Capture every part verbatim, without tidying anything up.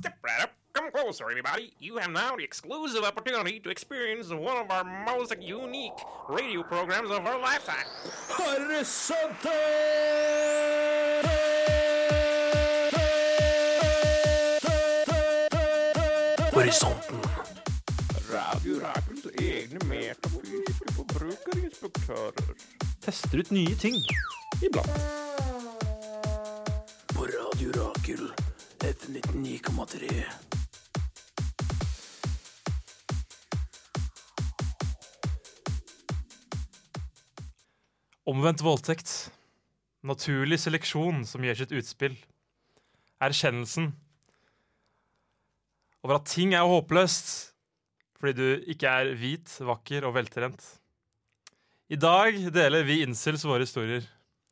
Step right up. Come closer, everybody. You have now the exclusive opportunity to experience one of our most unique radio programs of our lifetime. Horisonten! Horisonten. Radio Rakels egne metafysiske forbrukerinspektører. Tester ut nye ting. Iblant. På Radio Rakel, F nittioni komma tre. Omvendt voldtekt. Naturlig seleksjon som gjør sitt utspill. Erkjennelsen over at ting er håpløst fordi du ikke er hvit, vakker og veltrent. I dag deler vi incels våre historier.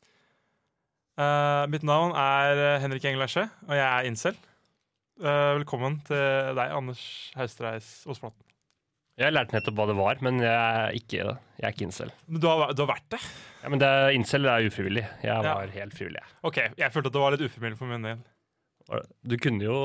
Uh, mitt navn er Henrik Engelasje, og jeg er incel. Uh, velkommen til deg, Anders Haustreis Osplaten. Jeg lærte nettopp hva det var, men jeg er ikke det. Jeg er ikke incel. Men du har, du har vært det? Ja, men det er, incel er ufrivillig. Jeg var Ja. helt frivillig. Ok, jeg følte at det var litt ufrivillig for min del. Du kunne jo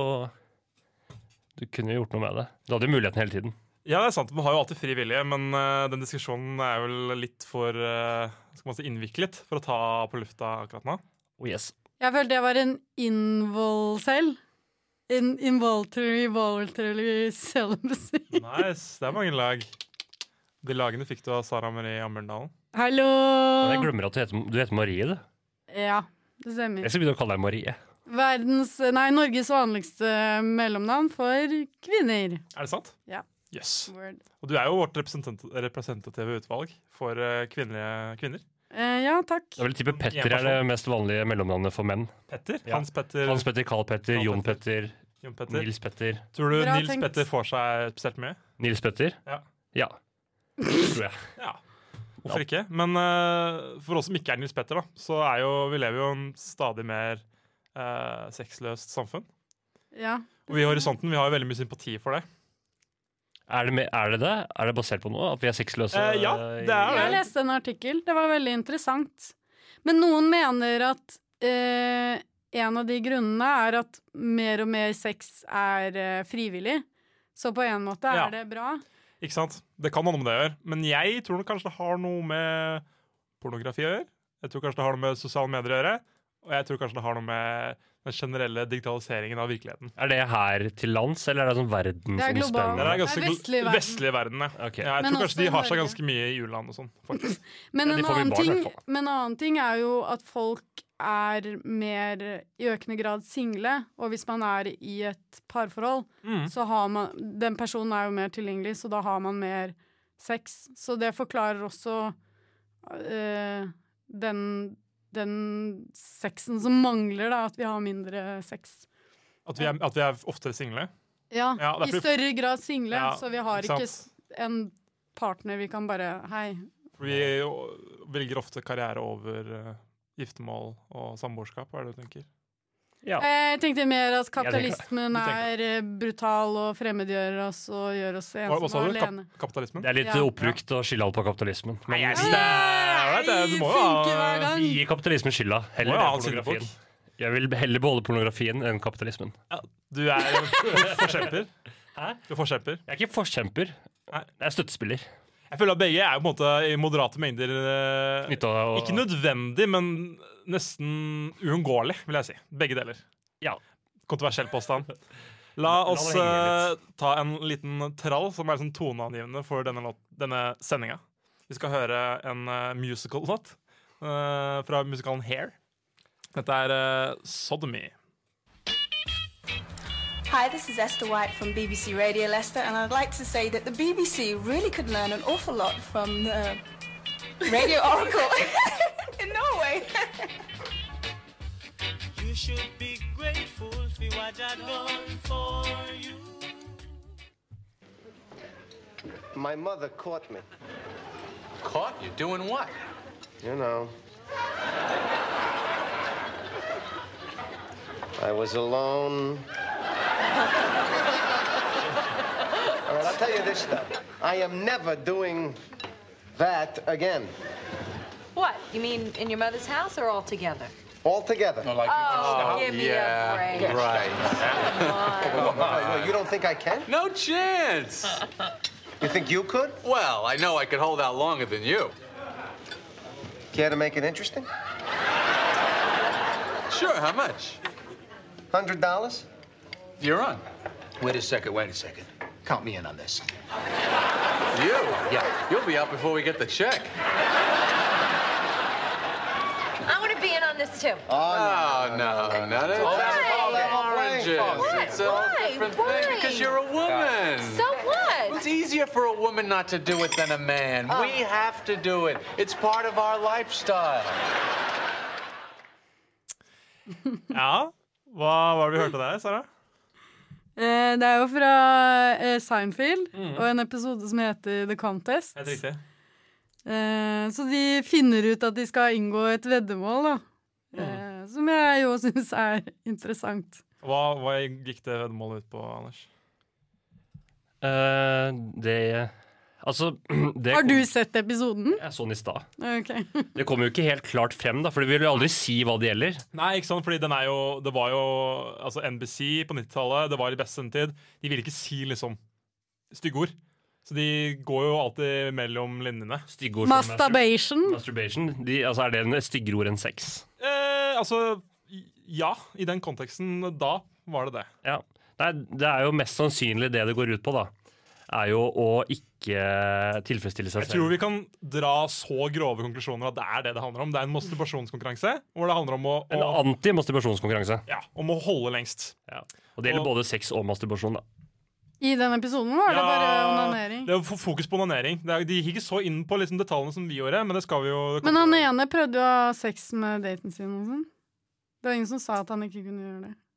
Du kunne jo gjort noe med det. Du hadde jo muligheten hele tiden. Ja, det er sant. Man har jo alltid fri vilje, men uh, den diskusjonen er vel litt for uh, skal man si, innviklet for å ta på lufta akkurat nå. Oh yes. Jeg følte jeg var en invol selv. In involuntary, voluntary celibacy. Nice, det er mange lag. De lagene fikk du av Sara Marie Amberdalen. Hallo! Men jeg glemmer at du heter, du heter Marie, du. Ja, det stemmer. Jeg skal begynne å kalle deg Marie. Verdens, nei, Norges vanligste mellomnavn for kvinner. Er det sant? Ja. Yes. Word. Og du er jo vårt representant representative utvalg for uh, kvinnelige kvinner. Eh, ja, takk. Jeg vil tippe Petter er det mest vanlige mellomnavnet for menn. Petter? Ja. Hans Petter? Hans Petter, Carl Petter, Carl Jon Petter. Petter, Jon Petter. Nils Petter. Tror du Bra Nils tenkt. Petter får seg spesielt mye? Nils Petter? Ja. Ja, tror jeg. Ja. Hvorfor ikke? Men uh, for oss som ikke er Nils Petter, da, så er jo, vi lever jo i en stadig mer uh, sexløst samfunn. Ja. Og vi i Horisonten vi har jo veldig mye sympati for det. Er det, med, er det det? Er det basert på noe? At vi er sexløse? Eh, ja, det er Jeg leste en artikkel. Det var veldig interessant. Men noen mener at eh, en av de grunnene er at mer og mer sex er eh, frivillig. Så på en måte er Ja. det bra. Ikke sant? Det kan ha noe med det å gjøre. Men jeg tror nok kanskje det har noe med pornografi å gjøre. Jeg tror kanskje det har noe med sosiale medier å gjøre. Og jeg tror kanskje det har noe med den generelle digitaliseringen av virkeligheten. Er det her til lands, eller er det sånn Det er verdensomspennende? globalt. Det er ganske Det er gl- vestlig verden. vestlige verden, ja. Ok. Ja, jeg Men tror kanskje de også har seg Norge. ganske mye i juleland og sånn, faktisk. Men Ja, de en, får vi annen barn, i ting, hvert fall. men en annen ting er jo at folk er mer i økende grad single. Og hvis man er i et parforhold, Mm. så har man den personen er jo mer tilgjengelig, så da har man mer sex. Så det forklarer også øh, den, den sexen som mangler, da, at vi har mindre sex. At vi er, at vi er oftere single. Ja, Ja, det er i fordi- større grad single, Ja, så vi har ikke ikke sant. s- en partner vi kan bare Hei. For vi jo- velger ofte karriere over uh, giftermål og samboerskap, hva er det du tenker? Ja. Jeg tenkte mer at tenker det. kapitalismen Du tenker er eh, brutal og fremmedgjør oss og gjør oss Hva, hva ensomme sa og du? Kap alene. kapitalismen? Det er litt Ja. oppbrukt å skylde alt på kapitalismen. Men jeg synes det er ålreit, det. Du må jo funker hver ha gang. vi gir kapitalismen skylda. Heller Må jo ha enn en pornografien. syndebukk. Jeg vil heller beholde pornografien enn kapitalismen. Du er en for- forkjemper. Hæ? Du er forkjemper. Jeg er ikke forkjemper. Nei. Jeg er støttespiller. Jeg føler at begge er jo på en måte i moderate mengder eh, Nytt av- ikke nødvendig, men nesten uunngåelig, vil jeg si. Begge deler. Ja. Kontroversiell påstand. La La oss det henge eh, ta en liten trall som er sånn toneangivende for denne, låt, denne sendinga. Vi skal høre en uh, musical-låt eh, fra musikalen Hair. Dette er eh, Sodomy. Hi, this is Esther White from B B C Radio Leicester, and I'd like to say that the B B C really could learn an awful lot from the Radio Oracle in Norway. You should be grateful for what I done for you. My mother caught me. Caught you doing what? You know. I was alone. All right, I'll tell you this stuff. I am never doing that again. What? You mean in your mother's house or all together? All together. No, like Oh, give me yeah, a break. right. Come on. You don't think I can? No chance. You think you could? Well, I know I could hold out longer than you. Care to make it interesting? Sure, how much? Hundred dollars? You're on. Wait a second, wait a second. Count me in on this. You? Yeah. You'll be out before we get the check. I want to be in on this too. Oh, no, no, no. It's all all oranges. What? It's all Why? different Why? thing because you're a woman. So what? It's easier for a woman not to do it than a man. Oh. We have to do it. It's part of our lifestyle. Ja, hva var det vi hørte der, Sarah? Eh, det er jo fra eh, Seinfeld, mm. og en episode som heter The Contest. Helt riktig. Eh, så de finner ut at de skal inngå et veddemål, da. Mm. Eh, som jeg jo synes er interessant. Hva, hva gikk det veddemålet ut på, Anders? Uh, det Altså det Har du kom, sett episoden? Jeg så den i stad. Okay. Det kommer jo ikke helt klart frem, da, for vi vil jo aldri si hva det gjelder. Nei, ikke sant, fordi den er jo Det var jo altså N B C på nittitallet, det var i beste sendetid. De ville ikke si liksom stygge ord. Så de går jo alltid mellom linjene. Styggord Masturbation. Masturbation. De, altså, er det en styggere ord enn sex? Eh, altså ja, i den konteksten da var det det. Ja. Nei, det er jo mest sannsynlig det det går ut på, da. Er jo å ikke tilfredsstille seg selv. Jeg tror vi kan dra så grove konklusjoner at det er det det handler om. Det er en masturbasjonskonkurranse hvor det handler om å, å En anti-masturbasjonskonkurranse. Ja, om å holde lengst. Ja. Og det gjelder og, både sex og masturbasjon, da. I den episoden var det ja, bare onanering. Det var fokus på onanering. Er, de gikk ikke så inn på liksom detaljene som vi gjorde, men det skal vi jo det Men han ene prøvde jo å ha sex med daten sin og sånn. Det var ingen som sa at han ikke kunne gjøre det.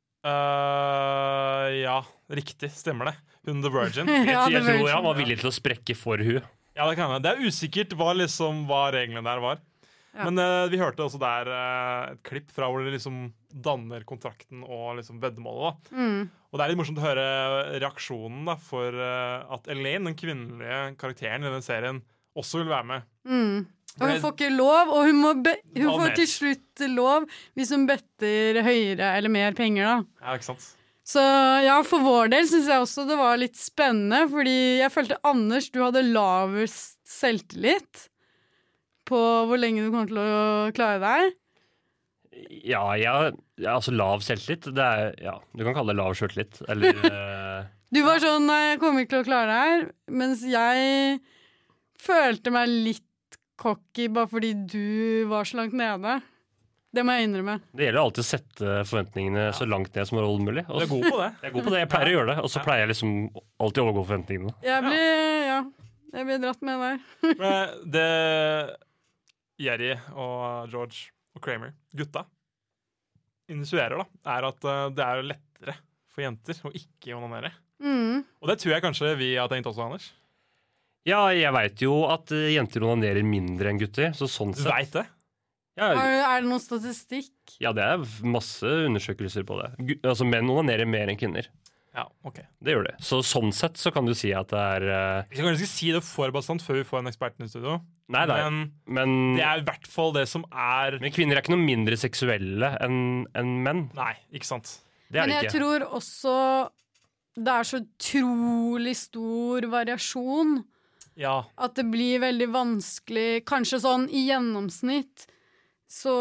Uh, ja, riktig. Stemmer det. Hun The Virgin. Jeg, Ja, jeg The tror han Virgin. var villig til å sprekke for hun. Ja, det kan jeg. Det er usikkert hva, liksom, hva reglene der var. Ja. Men uh, vi hørte også der uh, et klipp fra hvor de liksom danner kontrakten og liksom veddemålet. Da. Mm. Og det er litt morsomt å høre reaksjonen da, for uh, at Elaine, den kvinnelige karakteren i denne serien, også vil være med. Mm. Og hun får ikke lov, og hun, må be hun Ta får mer. til slutt lov hvis hun better høyere eller mer penger, da. Ja, ikke sant? Så ja, for vår del synes jeg også det var litt spennende, fordi jeg følte, Anders, du hadde lavest selvtillit på hvor lenge du kommer til å klare deg. Ja, jeg, ja, altså lav selvtillit. Det er, ja, du kan kalle det lav selvtillit. Eller uh, Du var sånn, nei, jeg kommer ikke til å klare det her, mens jeg følte meg litt cocky bare fordi du var så langt nede. Det må jeg innrømme. Det gjelder alltid å sette forventningene så langt ned som overhodet mulig. Du er god på det. Jeg er god på det, jeg pleier å gjøre det, og så pleier jeg liksom alltid å overgå forventningene. Jeg blir, ja, jeg blir dratt med der. Men det Jerry og George og Kramer, gutta, initierer da, er at uh, det er lettere for jenter å ikke onanere. Mm. Og det tror jeg kanskje vi har tenkt også, Anders. Ja, jeg vet jo at uh, jenter onanerer mindre enn gutter, så sånn Du sett. vet det? Ja, Er, er det noen statistikk? ja, det er masse undersøkelser på det. Gu- altså, menn onanerer mer enn kvinner. Ja, ok. Det gjør det. Så sånn sett så kan du si at det er uh, Vi skal kanskje ikke si det for bastant før vi får en ekspert i studio. Nei, nei. Men Men, det er i hvert fall det som er men kvinner er ikke noe mindre seksuelle enn enn menn. Nei, ikke sant? Det er Men det jeg ikke. tror også det er så utrolig stor variasjon Ja. at det blir veldig vanskelig. Kanskje sånn i gjennomsnitt så,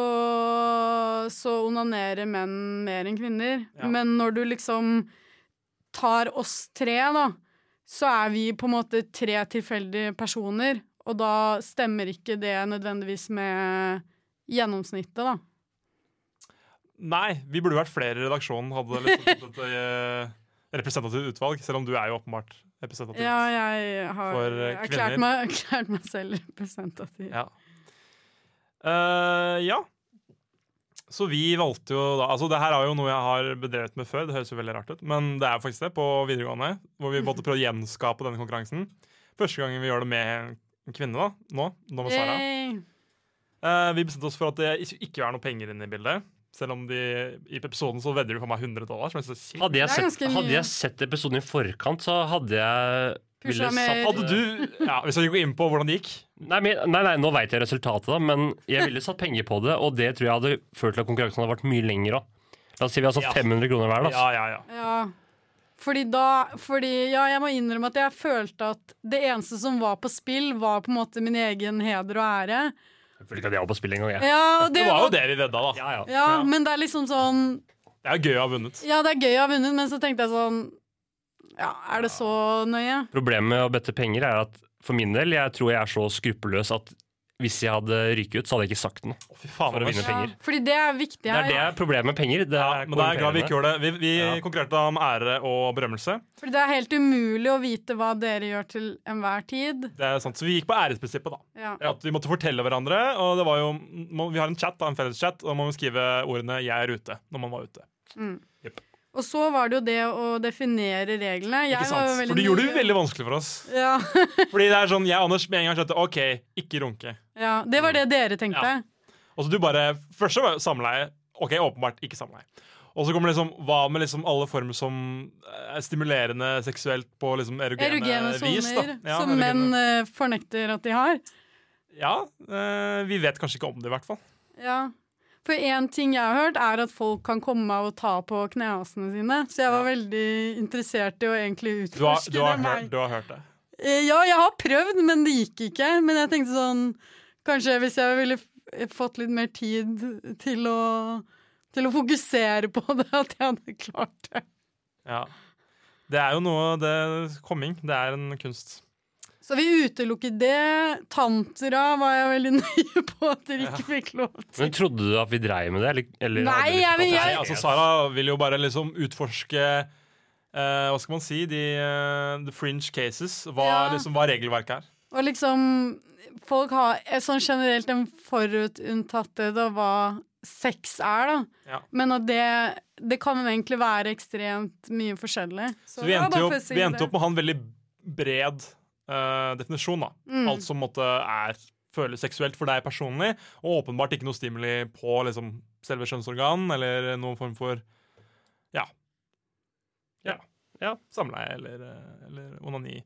så onanerer menn mer enn kvinner. Ja. Men når du liksom tar oss tre, da, så er vi på en måte tre tilfeldige personer. Og da stemmer ikke det nødvendigvis med gjennomsnittet, da. Nei, vi burde vært flere i redaksjonen hadde liksom et uh, representativt utvalg, selv om du er jo åpenbart representativ. Ja, jeg har For, eh, erklært kvinner. meg, erklært meg selv representativ. Ja. Uh, ja. Så vi valgte jo da Altså det her er jo noe jeg har bedrevet med før. Det høres jo veldig rart ut, men det er faktisk det på videregående. Hvor vi måtte prøve å gjenskape denne konkurransen. Første gangen vi gjør det med en kvinne da Nå, nå med Sara. Yay. uh, Vi bestemte oss for at det ikke, ikke er noe penger inne i bildet. Selv om de i episoden så vedder de for meg hundre dollar. Som jeg synes er sykt. Hadde jeg, Det er sett, ganske mye. hadde jeg sett episoden i forkant, så hadde jeg Pusha ville mer. satt Hadde du Ja, hvis jeg går inn på hvordan det gikk. Nei, men, nei, nei, nå vet jeg resultatet, da, men jeg ville satt penger på det, og det tror jeg hadde ført til at konkurransen hadde vært mye lenger òg. La oss si vi har satt Ja. fem hundre kroner hver. Da. Ja, ja, ja. Ja. fordi da fordi, Ja, jeg må innrømme at jeg følte at det eneste som var på spill, var på en måte min egen heder og ære. Jeg føler ikke at jeg var på spill en gang, jeg. Ja, det, det var jo det vi vedda, da. Ja, ja. Ja, ja, men det er liksom sånn Det er gøy å ha vunnet. Ja, det er gøy å ha vunnet, men så tenkte jeg sånn Ja, er det så nøye? Problemet med å bette penger er at for min del, jeg tror jeg er så skruppelløs at hvis jeg hadde ryket ut, så hadde jeg ikke sagt noe Å, fy faen, for å vinne Ja, penger. fordi det er viktig Det er her. det er problemet med penger. Det Ja, er men da er jeg glad vi ikke gjorde det. Vi, vi Ja. konkurrerte om ære og berømmelse. Fordi det er helt umulig å vite hva dere gjør til enhver tid. Det er sant, Så vi gikk på æresprinsippet, da. Ja. At vi måtte fortelle hverandre. Og det var jo, må- Vi har en chat, da, en felles chat, og da må vi skrive ordene 'jeg er ute' når man var ute. Mm. Yep. Og så var det jo det å definere reglene. Jeg Ikke var jo sant? veldig For du gjorde det nøye. veldig vanskelig for oss. Ja. Fordi det er sånn, jeg og Anders med en gang skjønte OK, ikke runke. ja, det var det dere tenkte. Ja. Og så du bare Først så var det samleie. OK, åpenbart ikke samleie. Og så kommer liksom hva med liksom alle former som er stimulerende seksuelt på liksom erogene, Erogene vis. da. soner, Ja, som erogene. menn eh, fornekter at de har. Ja, eh, vi vet kanskje ikke om det, i hvert fall. Ja. For en ting jeg har hørt, er at folk kan komme og ta på knehasene sine. Så jeg var veldig interessert i å egentlig Du har, utforske du har, det. hørt, du har hørt det. Eh, Ja, jeg har prøvd, men det gikk ikke. Men jeg tenkte sånn Kanskje hvis jeg ville f- fått litt mer tid til å, til å fokusere på det, at jeg hadde klart det. Ja. Det er jo noe det komming. Det er en kunst. Så vi utelukker det. Tantra var jeg veldig nøye på at dere ikke fikk lov til. Men trodde du at vi dreiv med det? Eller, eller Nei, hadde vi jeg vil- tatt Nei, det? altså Sara vil jo bare liksom utforske eh, hva skal man si, de eh, the fringe cases. Hva, Ja. liksom, hva regelverket er. Og liksom Folk har eh, sånn generelt en forutinntatthet av hva sex er, da. Ja. Men at det, det kan egentlig være ekstremt mye forskjellig. Så vi det var endte bare jo for å opp, si vi endte det. opp med å ha en veldig bred eh, definisjon. da. Mm. Alt som måtte er føles seksuelt for deg personlig, og åpenbart ikke noe stimuli på liksom, selve kjønnsorgan, eller noen form for ja. Ja. ja samleie eller, eh, eller onani.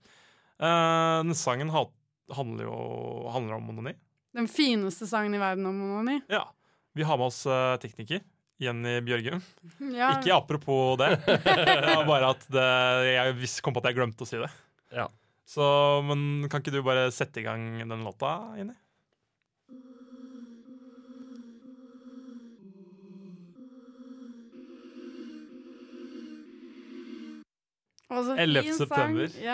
Eh, den sangen ha, handler jo handler om onani. Den fineste sangen i verden om onani. Ja. Vi har med oss eh, tekniker. Jenny Bjørgum. Ja. Ikke apropos det. Det var bare at det, jeg vis- kom på at jeg glemte å si det. Ja. Så, men kan ikke du bare sette i gang den låta, Jenny? Og så fin ellevte september. sang.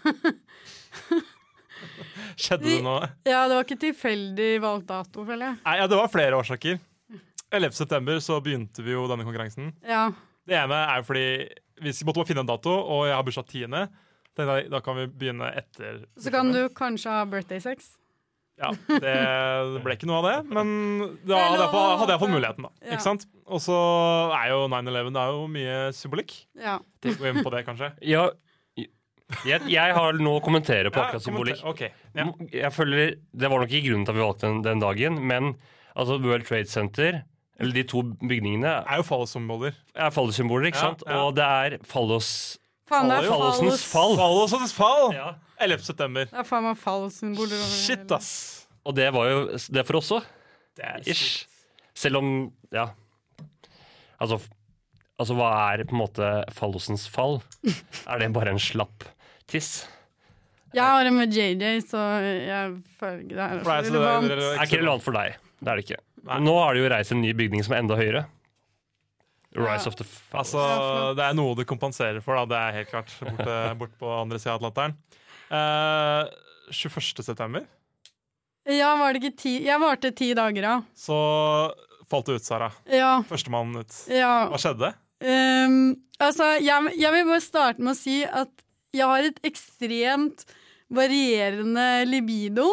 Ja. Skjedde det noe? ja, det var ikke tilfeldig valgt dato, føler jeg. Nei, ja, det var flere årsaker. ellevte september så begynte vi jo denne konkurransen. Ja. Det ene er jo fordi vi måtte bare finne en dato, og jeg har bursdag tiende. Tenkte jeg, Da kan vi begynne etter. Så kan du kanskje ha birthday sex. Ja, det ble ikke noe av det, men da Det er hadde jeg, lov å fått- hadde jeg håpe. fått muligheten, da. Ja. Ikke sant? Og så er jo nine eleven det er jo mye symbolikk. Ja. Tenk gå inn på det, kanskje. Ja, jeg, jeg har noe å kommentere på Ja, akkurat symbolikk. kommenter- ok, ja. Jeg føler, Det var nok ikke grunnen til at vi valgte den, den dagen, men altså World Trade Center, eller de to bygningene, Er jo fallosymboler. er fallosymboler, ikke Ja, sant? ja. Og det er fallos... Faen, det er Fallosens fallos- fall. Fallosens fall! Ja. ellevte september. Det er faen meg fallsymboler over Shit, hele. ass. Og det var jo det for oss òg. Det er Ish. Selv om Ja. Altså, f- altså, hva er på en måte fallosens fall? Er det bare en slapp tiss? Jeg har det med J J, så jeg føler ikke det er For deg så så det er- relevant. det er- Det er ikke relevant for deg. Det er det ikke. Nei. Nå har det jo reist en ny bygning som er enda høyere. Rise Ja. of the Fallos. Altså, det er noe du kompenserer for, da. Det er helt klart. Borte, bort på andre sida av Atlanteren. Eh, tjueførste september Ja, var det ikke ti Jeg varte ti dager, ja. så falt det ut, Sara. Ja. Førstemann ut. ja. Hva skjedde? Um, altså, jeg, jeg vil bare starte med å si at jeg har et ekstremt varierende libido.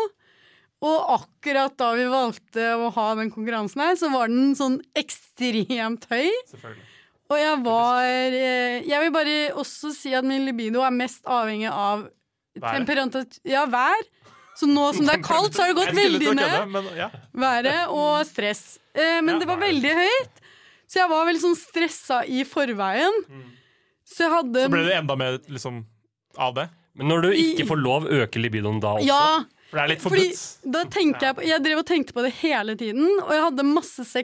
Og akkurat da vi valgte å ha den konkurransen her, så var den sånn ekstremt høy. Selvfølgelig. Og jeg var eh, Jeg vil bare også si at min libido er mest avhengig av Været. temperatur Ja, vær. Så nå som det er kaldt, så har det gått Jeg skulle til veldig å ned. kødde, men ja. Været og stress. Eh, men Ja, det var været. veldig høyt, så jeg var veldig sånn stressa i forveien. Så jeg hadde Så ble det enda mer liksom, av det. Men når du ikke får lov, øker libidoen da også? Ja, For det er litt fordi forbudt. da tenkte jeg på Jeg drev og tenkte på det hele tiden, og jeg hadde masse sex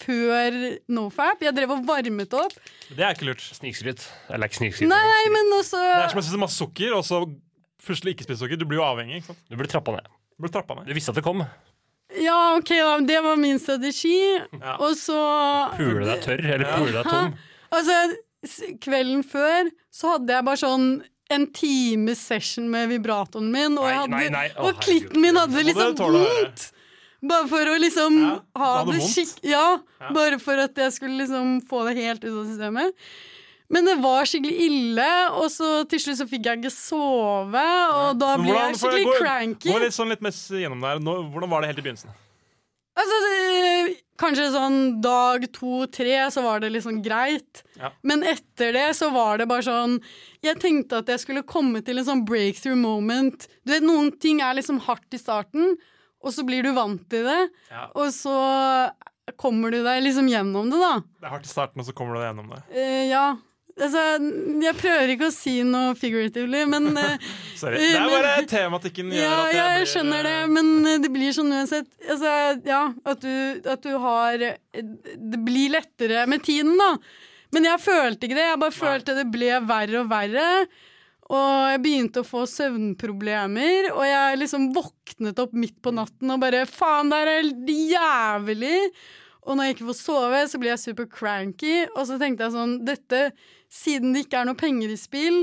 før NoFap. Jeg drev og varmet opp. Det er ikke lurt. Snikskryt. Eller ikke snikskryt. Nei, nei, men også Det er som å spise masse sukker, og så plutselig ikke spise sukker. Du blir jo avhengig, ikke sant? Du blir trappa ned. Du blir trappa ned. Du visste at det kom. Ja, ok, da. Det var min strategi. Ja. Og så Pule deg tørr, eller pule deg tom. Altså, s- kvelden før så hadde jeg bare sånn en times session med vibratoren min, og, jeg hadde, nei, nei. Å, og klitten min hadde Må liksom du tåle å høre. vondt. Bare for å liksom Ja, ha du hadde det vondt? skikk... Ja, Ja. bare for at jeg skulle liksom få det helt ut av systemet. Men det var skikkelig ille, og så til slutt så fikk jeg ikke sove, og da Men ble hvordan- jeg skikkelig gå, cranky. Gå litt, sånn litt mest gjennom der. Nå, hvordan var det helt i begynnelsen? Altså, det, kanskje sånn dag to, tre, så var det liksom greit. Ja. Men etter det så var det bare sånn Jeg tenkte at jeg skulle komme til en sånn breakthrough moment. Du vet, noen ting er liksom hardt i starten, og så blir du vant til det. Ja. Og så kommer du deg liksom gjennom det, da. Det er hardt i starten, og så kommer du deg gjennom det. Eh, ja. Altså, jeg prøver ikke å si noe figuratively, men eh, Sorry. Det er men- bare tematikken gjør Ja, at jeg, jeg blir skjønner det, men eh, det blir sånn uansett. Altså, ja, at du, at du har Det blir lettere med tiden, da. Men jeg følte ikke det. Jeg bare følte det ble verre og verre. Og jeg begynte å få søvnproblemer, og jeg liksom våknet opp midt på natten og bare faen, det er helt jævlig. Og når jeg ikke får sove, så blir jeg super cranky. Og så tenkte jeg sånn, dette, siden det ikke er noe penger i spill,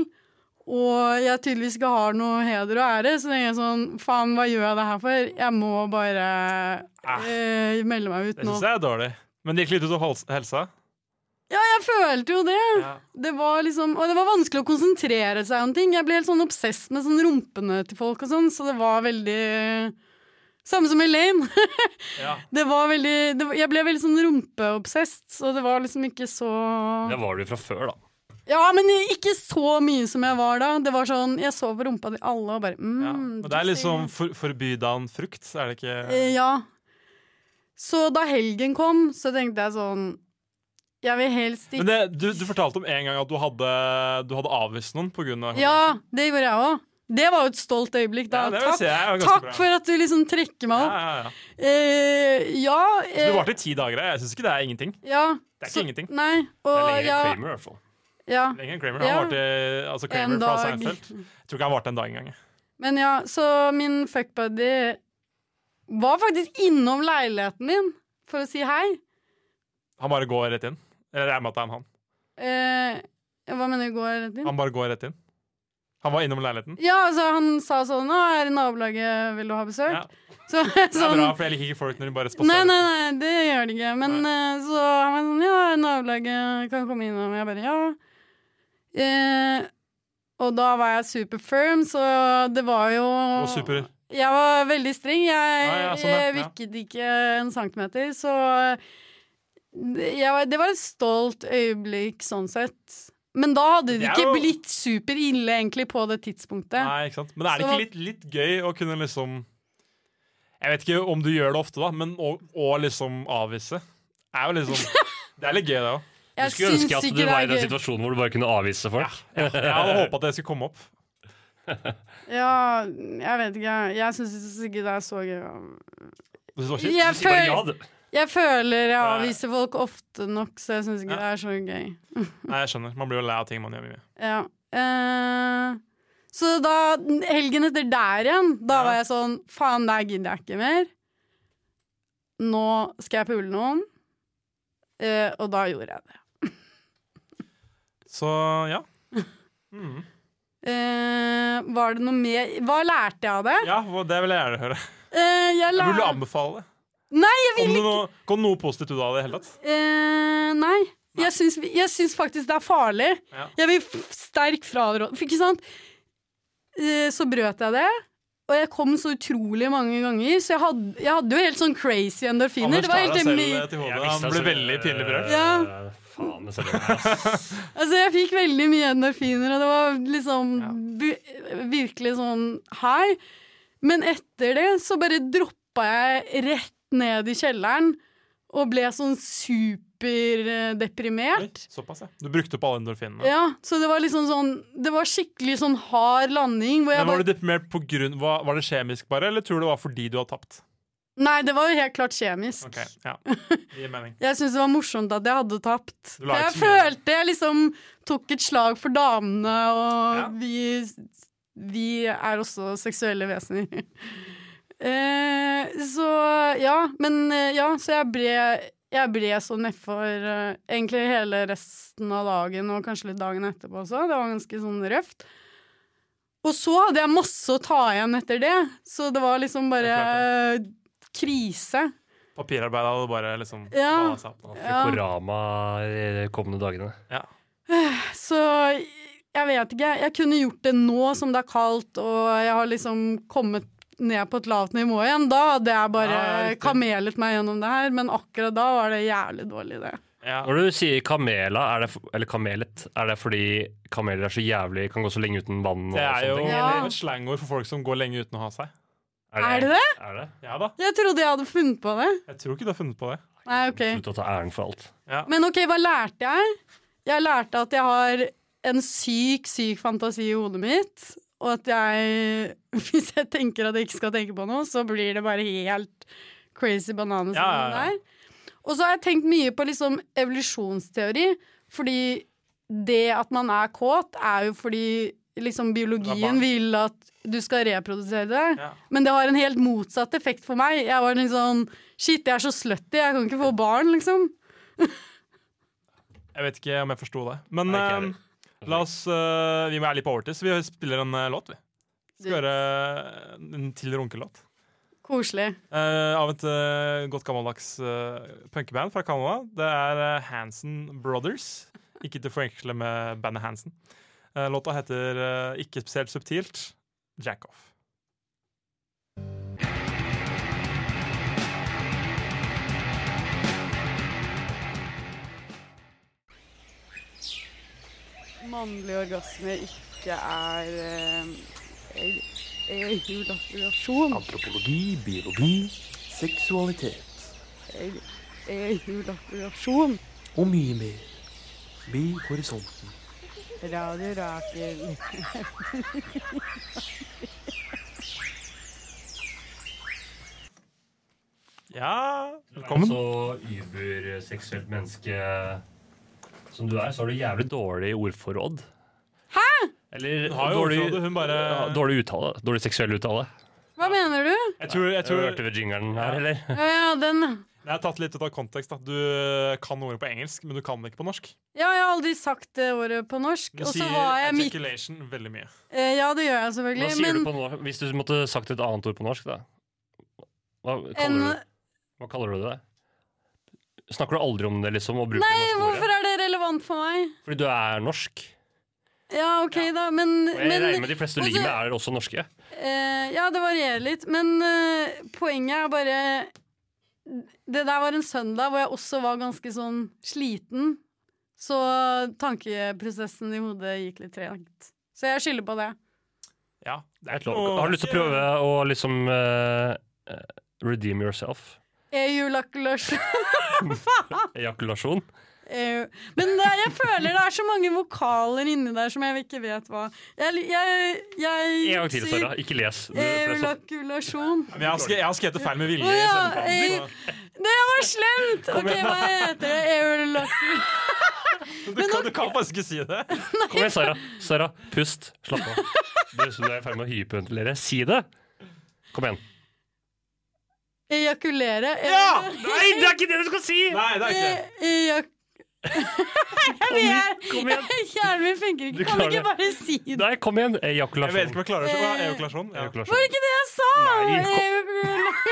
og jeg tydeligvis ikke har noe heder og ære, så tenker jeg sånn, faen, hva gjør jeg det her for? Jeg må bare eh, melde meg ut Det nå. syns jeg er dårlig. Men det gikk litt ut av hals- helsa. Ja, jeg følte jo det. Ja. Det var liksom, og det var vanskelig å konsentrere seg om ting. Jeg ble helt sånn obsess med sånn rumpene til folk og sånn, så det var veldig samme som Elaine. Ja. Det var veldig, det var, jeg ble veldig sånn rumpeobsessed, så det var liksom ikke så Det var du fra før, da. Ja, men ikke så mye som jeg var da. Det var sånn, jeg så på rumpa til alle og bare mm, Ja. Og det er liksom for, forbydan frukt, er det ikke? Eh, Ja. Så da helgen kom, så tenkte jeg sånn, jeg vil helst ikke Men det, du, du fortalte om en gang at du hadde, du hadde avvist noen på grunn av Ja, det gjorde jeg også. Det var jo et stolt øyeblikk da. Ja, det vil takk si jeg var ganske takk bra. for at du liksom trekker meg opp. Ja, ja, ja. Eh, ja, Så du eh, varte i ti dager. Jeg syns ikke det er ingenting. ja. Det er ikke så- ingenting. Nei, og Det er lenger ja, enn Kramer, i hvert fall. ja. Lenger enn Kramer. Ja. Han varte, altså Kramer En fra dag. Seinfeld. Jeg tror ikke han varte en dag engang. Men ja, så min fuckbuddy var faktisk innom leiligheten min for å si hei. Han bare går rett inn. Eller jeg regner med at det er han. Eh, hva mener du går rett inn? Han bare går rett inn. Han var innom leiligheten. Ja, altså han sa sånn, nå er i nabolaget, vil du ha besøk? Ja. Så, Det er sånn, bra, for jeg liker ikke folk når de bare Nei, spaserer. nei, nei, det gjør det ikke. Men eh, så han var sånn, ja, nabolaget kan komme innom. Jeg bare, ja. Eh, og da var jeg super firm, så det var jo Og super. Jeg var veldig streng. Jeg, Ja, ja, sånn, ja, jeg ja. vikket ikke en centimeter, så jeg, var- det var et stolt øyeblikk sånn sett. Men da hadde det Det er ikke jo- blitt super ille egentlig på det tidspunktet. Nei, ikke sant? Men er det Så- ikke litt, litt gøy å kunne liksom Jeg vet ikke om du gjør det ofte, da, men å, å liksom avvise er jo liksom Det er litt gøy, det òg. Du skulle ønske at du var i den situasjonen hvor du bare kunne avvise folk. Jeg hadde håpa at det skulle komme opp. Ja, jeg vet ikke. Jeg syns ikke det er så gøy. Du synes det var kjipt? Jeg, Du sier bare ja, føl du. jeg føler jeg Nei. avviser folk ofte nok, så jeg syns ikke det er så gøy. Nei, jeg skjønner. Man blir jo lei av ting man gjør mye. Ja. Eh, så da, helgen etter der igjen, da var jeg sånn faen, der gidder jeg ikke mer. Nå skal jeg pule noen. Eh, og da gjorde jeg det. Så ja. Mm. Eh, var det noe mer Hva lærte jeg av det? Ja, det vil jeg gjerne høre. Eh, jeg Vil du lær... anbefale det? Nei, jeg vil Kom det ikke noe, kom det noe positivt ut av det i hele tatt? Eh, nei. Jeg syns, jeg syns faktisk det er farlig. Ja. Jeg vil f- sterk fraråde. For ikke sant? Eh, så brøt jeg det, og jeg kom så utrolig mange ganger, så jeg hadde, jeg hadde jo helt sånn crazy endorfiner. Anders Det var tar helt deg selv hemmelig. til hodet. Jeg visste Han ble altså- veldig pinlig berørt. Ja. Faen, det ser du ass. Altså, jeg fikk veldig mye endorfiner, og det var liksom vi- virkelig sånn high. Men etter det så bare droppa jeg rett ned i kjelleren og ble sånn superdeprimert. Såpass, ja. Du brukte opp alle endorfinene. Ja, så det var liksom sånn Det var skikkelig sånn hard landing hvor jeg Men var bare du deprimert på grunn var, var det kjemisk bare, eller tror du det var fordi du hadde tapt? Nei, det var jo helt klart kjemisk. Ok, ja. Det gir mening. Jeg synes det var morsomt at jeg hadde tapt. Du la For jeg ikke så mye. følte jeg liksom tok et slag for damene, og Ja. vi, vi er også seksuelle vesener. eh, så ja, men eh, ja, så jeg ble, jeg ble så nedfor uh, egentlig hele resten av dagen, og kanskje litt dagen etterpå også. Det var ganske sånn røft. Og så hadde jeg masse å ta igjen etter det, så det var liksom bare eh, krise. Papirarbeidet hadde bare liksom Ja. ballet seg opp. Ja. Korama de kommende dagene. Ja. Så jeg vet ikke. Jeg kunne gjort det nå som det er kaldt, og jeg har liksom kommet ned på et lavt nivå igjen. Da hadde jeg bare Ja, ja, riktig. kamelet meg gjennom det her, men akkurat da var det jævlig dårlig, det. Ja. Når du sier kamela, er det, f- eller kamelet, er det fordi kameler er så jævlig, kan gå så lenge uten vann? Og Det er jo sånne ting? Ja. et slangord for folk som går lenge uten å ha seg. Er det det? Er det? Ja da. Jeg trodde jeg hadde funnet på det. Jeg tror ikke du har funnet på det. Nei, ok. Slutt å ta æren for alt. Ja. Men ok, hva lærte jeg? Jeg lærte at jeg har en syk, syk fantasi i hodet mitt, og at jeg, hvis jeg tenker at jeg ikke skal tenke på noe, så blir det bare helt crazy bananas. Ja, ja, ja. Der. Og så har jeg tenkt mye på liksom evolusjonsteori, fordi det at man er kåt, er jo fordi liksom biologien vil at du skal reprodusere deg. Ja. Men det har en helt motsatt effekt for meg. Jeg var litt sånn, shit, jeg er så slutty, jeg kan ikke få barn, liksom. Jeg vet ikke om jeg forsto det. Men Nei, ikke eh, heller. la oss eh, Vi må være litt på overtid, så vi spiller en eh, låt, vi. Skal høre en til runkelåt. Koselig. Eh, av et eh, godt gammeldags uh, punkeband fra Canada. Det er eh, Hansen Brothers. Ikke til å forveksle med bandet Hansen. Eh, låta heter eh, ikke spesielt subtilt Jack Off. Mannlig orgasme ikke er eh, ejakulasjon. Antropologi, biologi, seksualitet Ejakulasjon. og mye mer. Bli horisonten. Radio Rakel. Ja, Velkommen. velkommen. Så überseksuelt menneske som du er, så har du jævlig dårlig ordforråd. Hæ? Eller Hun har jo dårlig, ordforrådet, hun bare- ja, dårlig uttale. Dårlig seksuell uttale. Hva mener du? Jeg tror, jeg tror Hørte du jingeren her, eller? Ja, ja, den. Jeg har tatt litt ut av kontekst. Da. Du kan ordet på engelsk, men du kan det ikke på norsk. Ja, jeg har aldri sagt det ordet på norsk. Du Og så sier var jeg midt ejaculation veldig mye. eh, Ja, det gjør jeg Hva selvfølgelig. sier Men du på norsk? Hvis du måtte sagt et annet ord på norsk, da? Hva kaller, en, du, hva kaller du det? Snakker du aldri om det, liksom? Og bruker Nei, det norske hvorfor ordet? er det relevant for meg? Fordi du er norsk. Ja, OK, da, men, Og jeg men regner med de fleste du ligger også- med, er også norske. Eh, ja, det varierer litt, men eh, poenget er bare det der var en søndag hvor jeg også var ganske sånn sliten, så tankeprosessen i hodet gikk litt tregt. Så jeg skylder på det. Ja, det er Helt ikke lov. noe- Har du lyst til å prøve å liksom eh, eh, redeem yourself? Ejakulasjon. Ejakulasjon? Eh, Men det, er- jeg føler det er så mange vokaler inni der som jeg ikke vet hva. Jeg, jeg, jeg En gang til, sier Sara. Ikke les. Du, for det er så- ejakulasjon. Men jeg har, skrevet, jeg har skrevet det feil med vilje. Å i ja, sendeplanen, eh, så- Det var slemt! OK, hva heter det? Ejakulasjon. Du kan, du kan faktisk ikke si det. Kom igjen, Sara. Sara, pust. Slapp av. Det er som du er i ferd med å hyperventilere. Si det! Kom igjen. Ejakulere. Ja! Nei, det er ikke det du skal si! Nei, det er ikke det. Ejak... Kom igjen! Kom igjen. Hjernen min funker Du ikke. Kan du klarer ikke bare si det? Nei, kom igjen. Jeg Ejakulasjon. vet ikke om jeg klarer det. Hva er ejakulasjon? Ja. Var det ikke det jeg sa? Nei,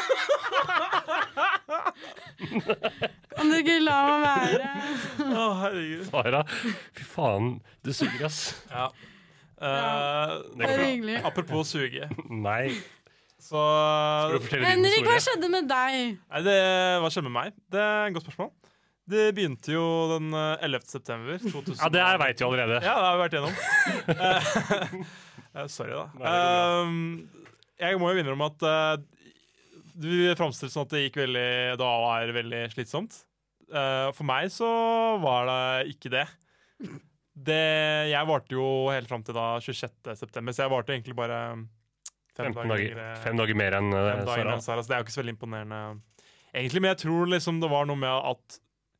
Ejakulasjon. Kan du ikke la meg være? Å, herregud. Sara, fy faen. Du suger, ass. Ja. Eh, Det går Bare bra. hyggelig. apropos suge, Nei. så Skal du fortelle din Henrik, hva historie? skjedde med deg? Nei, det, hva skjedde med meg? Det er et godt spørsmål. Det begynte jo den eh, ellevte september to tusen. Ja, det her veit vi allerede. Ja, det har vi vært igjennom. Eh, Sorry, da. Nei, det Um, jeg må jo innrømme at eh, du framstilte sånn at det gikk veldig da var veldig slitsomt. Eh, for meg så var det ikke det. det jeg varte jo helt fram til da tjuesjette september, så jeg varte egentlig bare fem femten dager, dager, fem dager mer enn uh, fem dager Sara. enn Sara, så det er jo ikke så veldig imponerende. Egentlig, men jeg tror liksom det var noe med at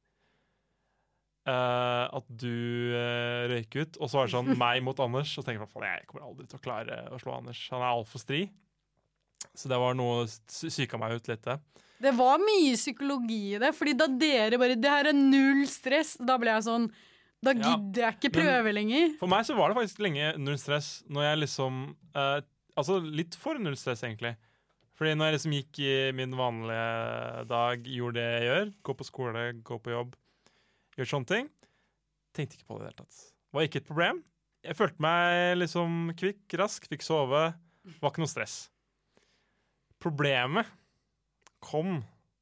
uh, at du uh, røyk ut, og så var det sånn meg mot Anders, og så tenker jeg faen, jeg kommer aldri til å klare å slå Anders. Han er altfor stri. Så det var noe sy- syka meg ut litt, det. Det var mye psykologi i det, fordi da dere bare Det her er null stress. Da ble jeg sånn Da Ja, gidder jeg ikke prøve men- lenger. For meg så var det faktisk lenge null stress når jeg liksom eh, Altså litt for null stress, egentlig. Fordi når jeg liksom gikk i min vanlige dag, gjorde det jeg gjør, gå på skole, gå på jobb, gjør sånne ting, tenkte ikke på det i det hele tatt. Var ikke et problem. Jeg følte meg liksom kvikk, rask, fikk sove. Var ikke noe stress. Problemet kom,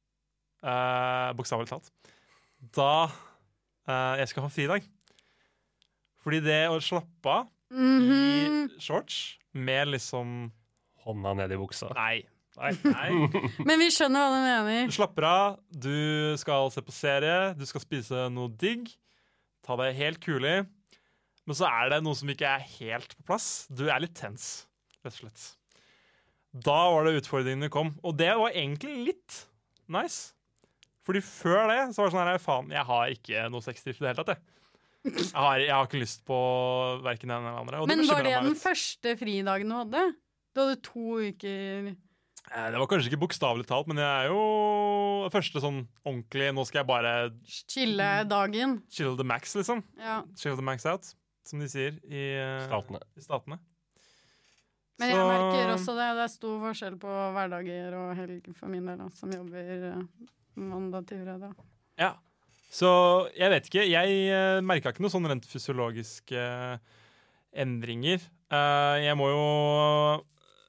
eh, bokstavelig talt, da eh, jeg skal ha fridag. Fordi det å slappe av Mhm. i shorts med liksom Hånda ned i buksa. Nei. Nei, nei. Men vi skjønner hva du mener. Du slapper av, du skal se på serie, du skal spise noe digg, ta det helt kulig, men så er det noe som ikke er helt på plass. Du er litt tens, rett og slett. Da var det utfordringene kom, og det var egentlig litt nice. Fordi før det så var det sånn her, faen, jeg har ikke noe sexdrift i det hele tatt, jeg. Jeg har, jeg har ikke lyst på hverken den eller den andre. Og Men det var bekymret det meg den litt. første fridagen du hadde? Du hadde to uker Eh, Det var kanskje ikke bokstavelig talt, men jeg er jo det første sånn ordentlig. Nå skal jeg bare chille-dagen. chill the max, liksom. Ja. Chill the max out, som de sier i, eh, Statene. i statene. Men jeg Så- merker også det. Det er stor forskjell på hverdager og helg for min del, da, som jobber eh, mandag til fredag. Ja. Så jeg vet ikke. Jeg uh, merka ikke noe sånn rent fysiologiske eh, endringer. Eh, jeg må jo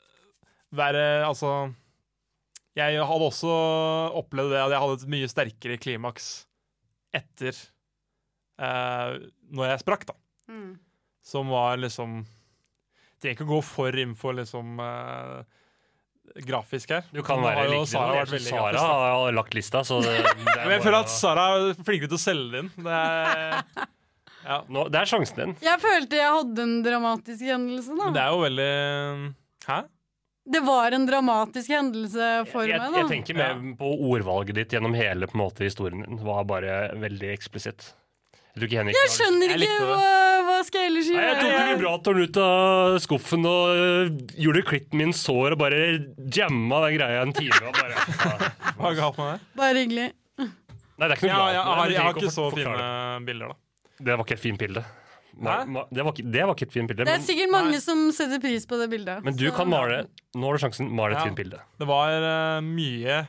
være Altså Jeg hadde også opplevd det at jeg hadde et mye sterkere klimaks etter uh, når jeg sprakk, da. Mm. Som var liksom Trenger ikke å gå for inn for liksom eh, grafisk her. Du kan Nå være har jo like Sara vært veldig Sara grafisk, da. har lagt lista, så det, det er Men jeg bare føler å- at Sara er flinkere til å selge det inn. Det er, ja. Nå, det er sjansen din. Jeg følte jeg hadde en dramatisk hendelse, da. Men det er jo veldig Hæ? Det var en dramatisk hendelse for Jeg, meg, da. jeg tenker mer på ordvalget ditt gjennom hele på en måte, historien din. Var bare veldig eksplisitt. Jeg tror ikke Henrik Jeg har- skjønner Jeg ikke likte det. hva, hva skal jeg ellers Nei, jeg tok gjøre. det mye bra at han ut av skuffen og øh, gjorde klitten min sår og bare jamma den greia en time. Og bare, Hva er galt med det? Bare hyggelig. Nei, det er ikke Ja, noe jeg, galt. har, med det. jeg har Du trenger ikke så å for- fine forklare bilder, da. det. Det var ikke et fint bilde. Ma, Hæ? ma, det, var ikke, det var ikke et fint bilde. Det er Men, sikkert mange som setter pris på det bildet. men du så- kan male. Nå har du sjansen. Male et Ja. fint bilde. Det var eh, mye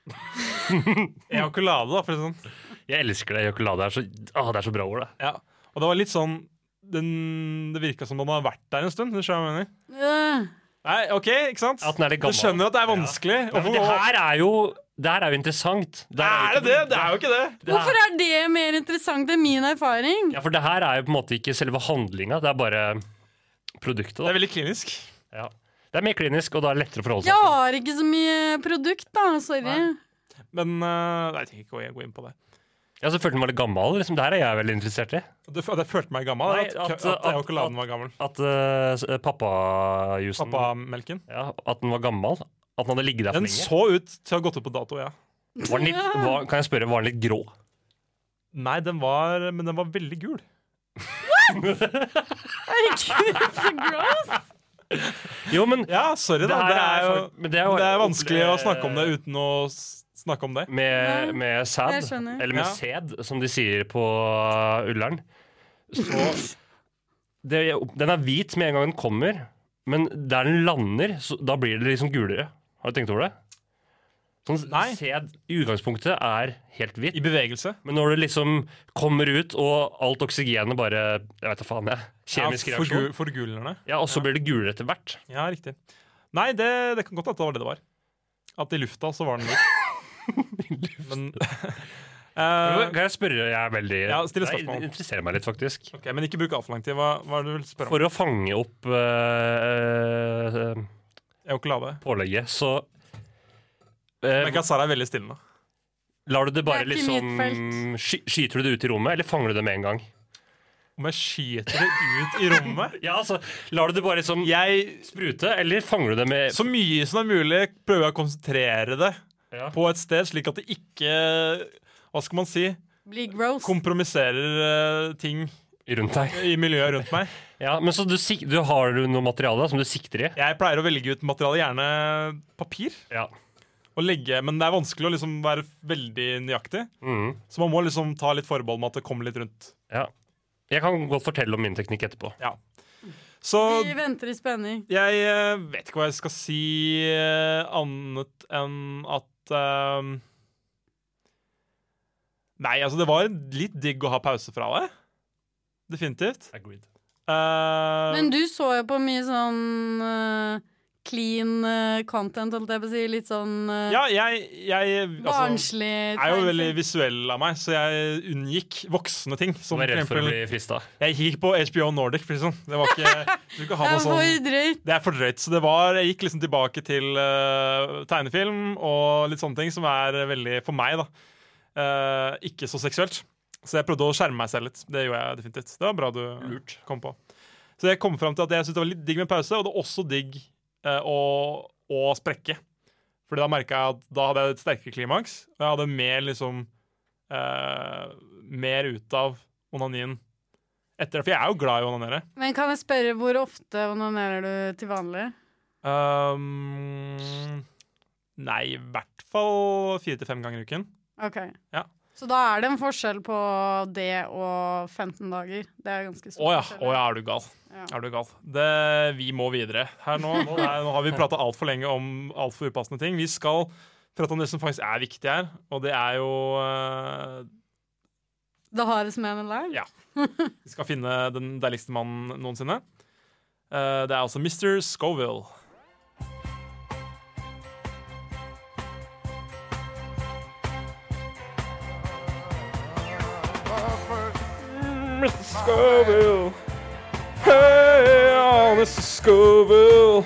ejakulade, da, for å si det sånn. Jeg elsker det. Ejakulade er så, ah, det er så bra ord, det. Ja. Og det var litt sånn den, Det virka som den har vært der en stund. Du skjønner hva jeg mener? Øh. Nei, OK, ikke sant? At den er litt Du gammel. skjønner at det er vanskelig. Ja, men det her er jo Det her er jo interessant. Det her Er jo det det? ikke- Det er jo ikke det. det her- Hvorfor er det mer interessant enn min erfaring? Ja, for det her er jo på en måte ikke selve handlinga, det er bare produktet. Det Da. er veldig klinisk. Ja. Det er mer klinisk, og da er det lettere å forholde seg Jeg til. har ikke så mye produkt, da. Sorry. Nei. Men uh, Nei, jeg trenger ikke å gå inn på det. Jeg så følte den var litt gammel. Liksom, det her er jeg veldig interessert i. Det, det følte meg gammel. Nei, at at- at, at- ejakuladen var gammel. At uh, pappajusen Pappamelken. ja, At den var gammel. At den hadde ligget der for Den lenge. så ut til å ha gått ut på dato, ja. Var den litt, var, kan jeg spørre, var den litt grå? Nei, den var Men den var veldig gul. Herregud, så gross! Jo, men Ja, sorry, Det da. her Det er er jo fakt- men det er jo- det er vanskelig å snakke om det uten å s- snakke om det. med, med sæd, jeg skjønner. eller med Ja. sæd, som de sier på uh, Ullern, så det, Den er hvit med en gang den kommer, men der den lander, så, da blir det liksom gulere. Har du tenkt over det? Sånn, Nei. sæd i utgangspunktet er helt hvit, I bevegelse. men når det liksom kommer ut, og alt oksygenet bare Jeg vet da faen, jeg. Kjemisk ja, reaksjon. forgu- Forgulende. Ja, og så blir det gulere etter hvert. Ja, riktig. Nei, det, det kan godt at det var det det var. At i lufta så var den hvit. Men eh, Kan jeg spørre? Jeg er veldig Ja, still et Nei, spørsmål. Det interesserer meg litt, faktisk. Ok, Men ikke bruk altfor lang tid. Hva, hva er det du vil spørre om? For å fange opp øh, øh, Ejakulade. pålegget, så øh, Men ikke at Sara er veldig stille nå. lar du det bare Det er ikke liksom mitt sky, Skyter du det ut i rommet, eller fanger du det med en gang? om jeg skyter det ut i rommet. Ja, altså, lar du det bare liksom Jeg, sprute, eller fanger du det med så mye som er mulig, prøver jeg å konsentrere det Ja. på et sted, slik at det ikke, hva skal man si, Blir gross. kompromisserer eh, ting rundt deg? i miljøet rundt meg. Ja, men så du, sik- du har du noe materiale som du sikter i? Jeg pleier å velge ut materiale, gjerne papir, Ja. og legge, men det er vanskelig å liksom være veldig nøyaktig. Mhm. Så man må liksom ta litt forbehold med at det kommer litt rundt. ja. Jeg kan godt fortelle om min teknikk etterpå. Ja. Så Vi venter i spenning. jeg eh, vet ikke hva jeg skal si eh, annet enn at eh, Nei, altså, det var litt digg å ha pause fra det. Definitivt. Agreed. Eh, Men du så jo på mye sånn eh, clean eh, content, holdt jeg på å si. Litt sånn uh, ja, jeg, jeg altså, barnslig er jo veldig visuell av meg, så jeg unngikk voksne ting. Du Som er redd for å eksempel, bli frista. jeg gikk på H B O Nordic. For sånn. Det var ikke, du kan ha Det noe er sånn, for drøyt. det er for drøyt. Så det var, jeg gikk liksom tilbake til uh, tegnefilm og litt sånne ting som er veldig, for meg, da, uh, ikke så seksuelt. Så jeg prøvde å skjerme meg selv litt. Det gjorde jeg definitivt. Det var bra du Lurt. kom på. Så jeg kom frem til at jeg syntes det var litt digg med pause, og det var også digg uh, å, å sprekke. Fordi da merket jeg at da hadde jeg et sterkere klimaks, og jeg hadde mer liksom uh, mer ut av onanien etter det. For jeg er jo glad i å onanere. Men kan jeg spørre, hvor ofte onanerer du til vanlig? Um, nei, i hvert fall fire til fem ganger i uken. Ok. Ja. Så da er det en forskjell på det og femten dager. Det er ganske stor Å ja, forskjell. å ja, er du gal. Ja. Er du gal. Det, vi må videre her nå. Nå, er, nå har vi pratet alt for lenge om alt for upassende ting. Vi skal prate om det som faktisk er viktig her, og det er jo uh, The hardest man alive? Ja. Vi skal finne den deiligste mannen noensinne. Uh, det er altså mister Scoville. mister Scoville. Hey, oh, mister Scoville.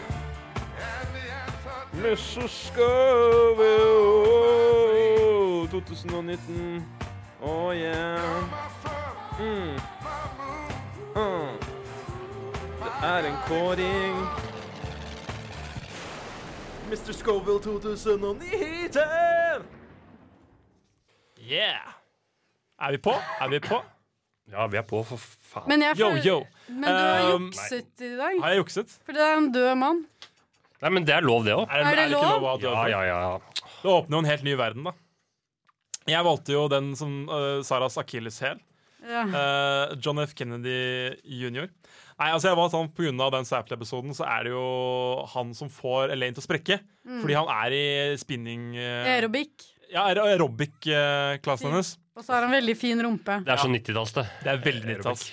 mister Scoville. Oh, tjue nitten. Oh, yeah. Mm. Mm. Det er en kåring. mister Scoville tjue nitten. Yeah. Er vi på? Er vi på? Ja, vi er på, for faen. Men, jeg Yo, føler- yo. Men du har Um, jukset i dag. Har jeg jukset? For det er en død mann. Nei, men det er lov, det òg. Er, Er det er det ikke lov? lov å ha død Ja, folk? ja, ja. Det åpner jo en helt ny verden, da. Jeg valgte jo den som uh, Saras akilleshæl. Ja. Uh, John F. Kennedy junior Nei, altså jeg var sånn På grunn av den Sapple-episoden så er det jo han som får Elaine til å sprekke. Mm. Fordi han er i spinning uh, Aerobic. Ja, aer- aerobic-klassen hennes. Og så har han veldig fin rumpe. Det er så nittitalls, det. Det er veldig nittitalls.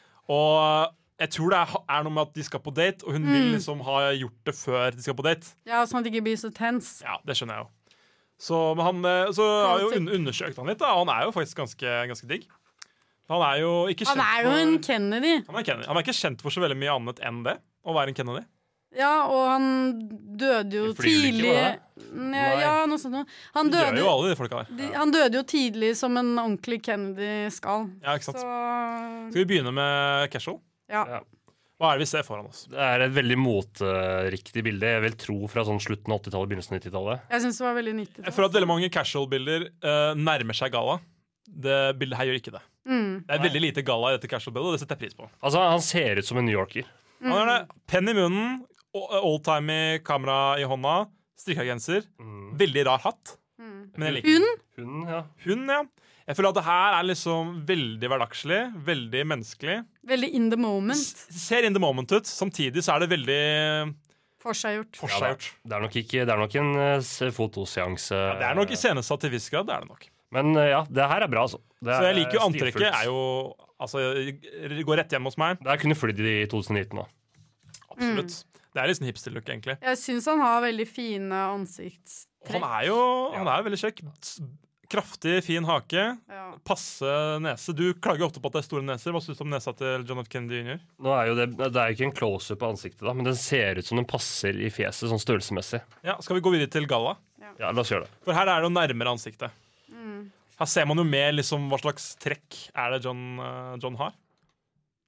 Og uh, jeg tror det er, er noe med at de skal på date, og hun vil Mm. liksom ha gjort det før de skal på date. Ja, Sånn at det ikke blir så tens. Ja, det skjønner jeg jo. Så, men han, eh, så har jeg jo un undersøkt han litt, da. og Han er jo faktisk ganske, ganske digg. Han er jo ikke kjent Han er jo for, en Kennedy. han er Kennedy. Han er ikke kjent for så veldig mye annet enn det. Å være en Kennedy. Ja, og han døde jo I flyulykke, tidlig. var det? Ja, ja, noe sånt noe. Han De dør døde, jo alle de folka der. de, han døde jo tidlig som en ordentlig Kennedy skal. Ja, ikke sant? Så Skal vi begynne med Casual? ja. Ja. Hva er det vi ser foran oss? Det er et veldig moteriktig bilde. Jeg vil tro fra sånn slutten av åttitallet, begynnelsen av nittitallet. Jeg syns det var veldig nyttig. Jeg føler at veldig mange casual-bilder eh, nærmer seg galla. Det bildet her gjør ikke det. Mm. Det er veldig lite galla i dette casual-bildet, og det setter jeg pris på. Altså, Han ser ut som en New Yorker. Han har det. Penn i munnen, oldtimey kamera i hånda, strikka genser. Mm. Veldig rar hatt. Mm. Men jeg liker den. Hun? Hun, ja. Hun, ja. Jeg føler at det her er liksom veldig hverdagslig, veldig menneskelig. Veldig in the moment. S ser in the moment ut. Samtidig så er det veldig Forseggjort. forseggjort. Det er nok, ikke, det er nok en uh, s- fotoseanse. Ja, det er nok iscenesatt til viss grad. Det er det nok. Men uh, ja, det her er bra, altså. Det Så jeg liker jo er antrekket. stilfullt. er jo Altså, det går rett hjem hos meg. Det her kunne flydd i tjue nitten òg. Absolutt. Det er litt sånn hipster-look, egentlig. Jeg syns han har veldig fine Han ansiktstrekk. er jo han er veldig kjekk. S- Kraftig, fin hake. Ja. Passe nese. Du klager ofte på at det er store neser. Hva syns du om nesa til John F. Kennedy junior? Nå er jo det, det er jo ikke en close-up på ansiktet, da, men den ser ut som den passer i fjeset sånn størrelsesmessig. Ja, skal vi gå videre til galla? Ja, la oss gjøre det. For her er det jo nærmere ansiktet. Mm. Her ser man jo mer liksom hva slags trekk er det John, eh, John har.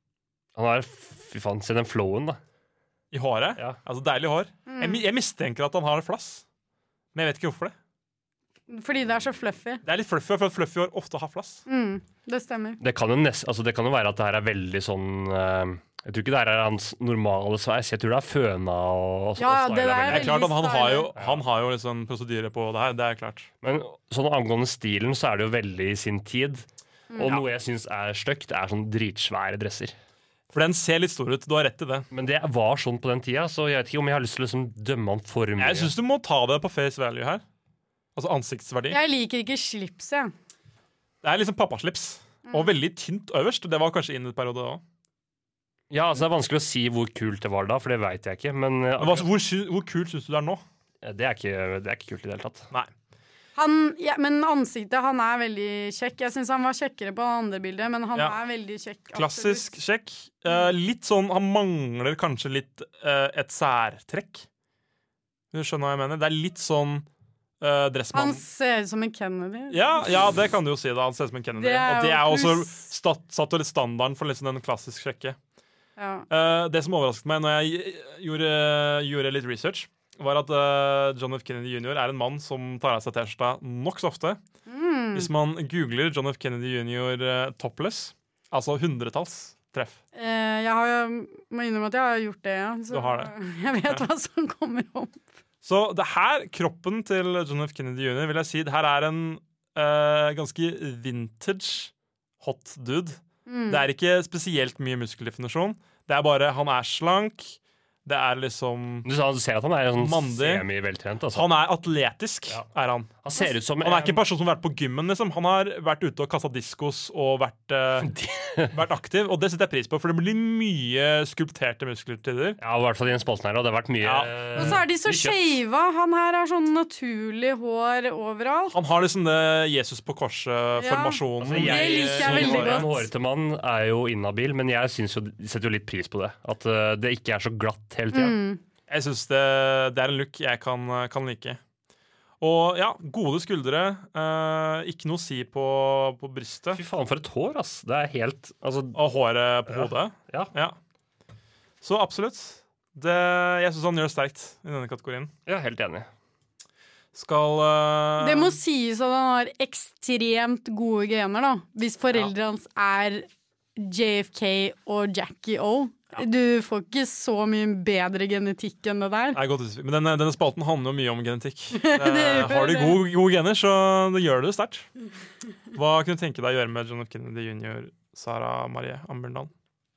Han har, fy faen, se den flowen da. I håret? Ja. Altså deilig hår. Mm. Jeg, mi- jeg mistenker at han har flass. Men jeg vet ikke hvorfor det. Fordi det er så fluffy. Det er litt fluffy, for at fluffy hår ofte har flass. Mm, det stemmer. Det kan jo, nest, altså det kan jo være at det her er veldig sånn eh, Jeg tror ikke det her er hans normale sveis. Jeg tror det er føna og, og Ja, og det stylet der er Det er klart at han har jo, stylet. han har jo liksom prosedyre på det her. Det er klart. Men sånn angående stilen så er det jo veldig i sin tid. Mm. Og noe jeg syns er stygt, er sånn dritsvære dresser. For den ser litt stor ut. Du har rett i det. Men det var sånn på den tida, så jeg vet ikke om jeg har lyst til å liksom dømme han for mye. Jeg syns du må ta det på face value her. Altså ansiktsverdi. Jeg liker ikke slips, jeg. Det er liksom pappaslips. Og veldig tynt øverst. Det var kanskje inn i et periode òg. Ja, altså Det er vanskelig å si hvor kult det var da, for det veit jeg ikke. Men eh, Hvor, sy- hvor kult syns du det er nå? det, er ikke, det er ikke kult i det hele tatt. Nei. Han, ja, men ansiktet, han er veldig kjekk. Jeg syns han var kjekkere på det andre bildet, men han Ja. er veldig kjekk. Klassisk kjekk. Eh, litt sånn Han mangler kanskje litt eh, et særtrekk. Du skjønner hva jeg mener? Det er litt sånn uh, dressmann. Han ser ut som en Kennedy. Ja, ja, det kan du jo si. da Han ser ut som en Kennedy. Det er Og det jo er også pluss. stat, satt jo litt standarden for liksom den klassisk kjekke. Ja. Eh, det som overrasket meg når jeg gjorde, gjorde litt research, var at eh, John F. Kennedy junior er en mann som tar av seg T-skjorta nokså ofte. Mm. Hvis man googler John F. Kennedy junior eh, topless, altså hundretalls treff. Eh, jeg har, må innrømme at jeg har gjort det, ja. Så Du har det. jeg vet hva som kommer opp. Så det her, kroppen til John F. Kennedy junior, vil jeg si, det her er en eh, ganske vintage hot dude. Mm. Det er ikke spesielt mye muskeldefinisjon. Det er bare, han er slank. Det er liksom Du, sa, du ser at han er sånn mandig. semi-veltrent. Altså. Han er atletisk, Ja. er han. Han ser ut som Han er ikke en person som har vært på gymmen, liksom. Han har vært ute og kasta diskos og vært, eh, vært aktiv, og det setter jeg pris på, for det blir mye skulpterte muskler til tider. Ja, i hvert fall i den spalten her, og det har vært mye Ja. eh, Og så er de så mye kjøtt. skeiva. Han her har sånn naturlig hår overalt. Han har liksom det Jesus på korset-formasjonen. Altså, Det liker jeg som veldig en godt. hårete mann er jo inhabil, men jeg synes jo, setter jo litt pris på det. At eh, det ikke er så glatt hele tida. Mm. Jeg syns det, det er en look jeg kan, kan like. Og ja, gode skuldre. Eh, ikke noe å si på, på brystet. Fy faen, for et hår, ass. Det er helt altså, Og håret på Ja. hodet. Ja. Så absolutt. Det, jeg syns han gjør sterkt i denne kategorien. Ja, helt enig. Skal eh, Det må sies at han har ekstremt gode gener, da. Hvis foreldrene hans er J F K og Jackie O. Du får ikke så mye bedre genetikk enn det der. Nei, godt utspill. Men denne, denne spalten handler jo mye om genetikk. Det Eh, gjør har du det. gode, gode gener, så det gjør du det sterkt. Hva kunne du tenke deg å gjøre med John F. Kennedy junior, Sara Marie Ambjørndal?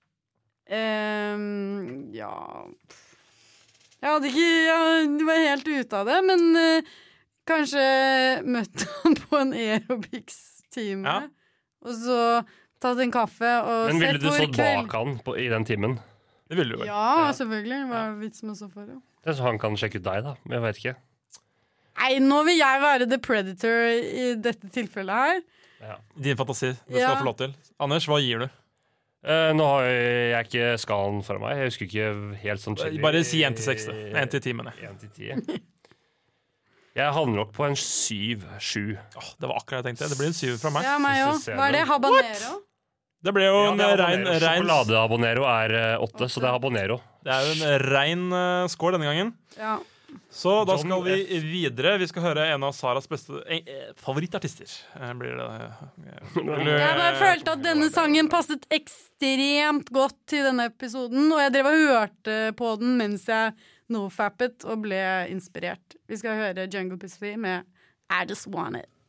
Ehm, ja Jeg hadde ikke Jeg var helt ute av det, men eh, kanskje møtt ham på en aerobics-time. Ja. Og så tatt en kaffe og Men ville sett du hvor stått bak han på, i den timen? Det ville du vel. Ja, selvfølgelig. Hva er vitsen med å stå foran? Det er så han kan sjekke ut deg, da. Men jeg vet ikke. Nei, nå vil jeg være the predator i dette tilfellet her. Din fantasi. Det skal Ja. du få lov til. Anders, hva gir du? Eh, nå har jeg ikke skalaen foran meg. Jeg husker ikke helt sånn chili. Bare si én til seks. én til ti, mener jeg. En til ti. Jeg havner nok på en syv, sju. Åh, det var akkurat jeg tenkte. Det blir en syver fra meg. Ja, meg òg. Synes jeg Hva er det? nå. Habanero? Det ble jo Ja, en det er rein, habanero. rein Sjokoladehabanero er eh, åtte, så det er habanero. Det er jo en rein uh, score denne gangen. Ja. Så da John skal vi F. videre. Vi skal høre en av Saras beste eh, eh, favorittartister. Eh, blir det eh, vil du- Jeg bare følte at denne sangen passet ekstremt godt til denne episoden, og jeg drev og hørte på den mens jeg nofappet og ble inspirert. Vi skal høre Jungle Pussy med I Just Want It.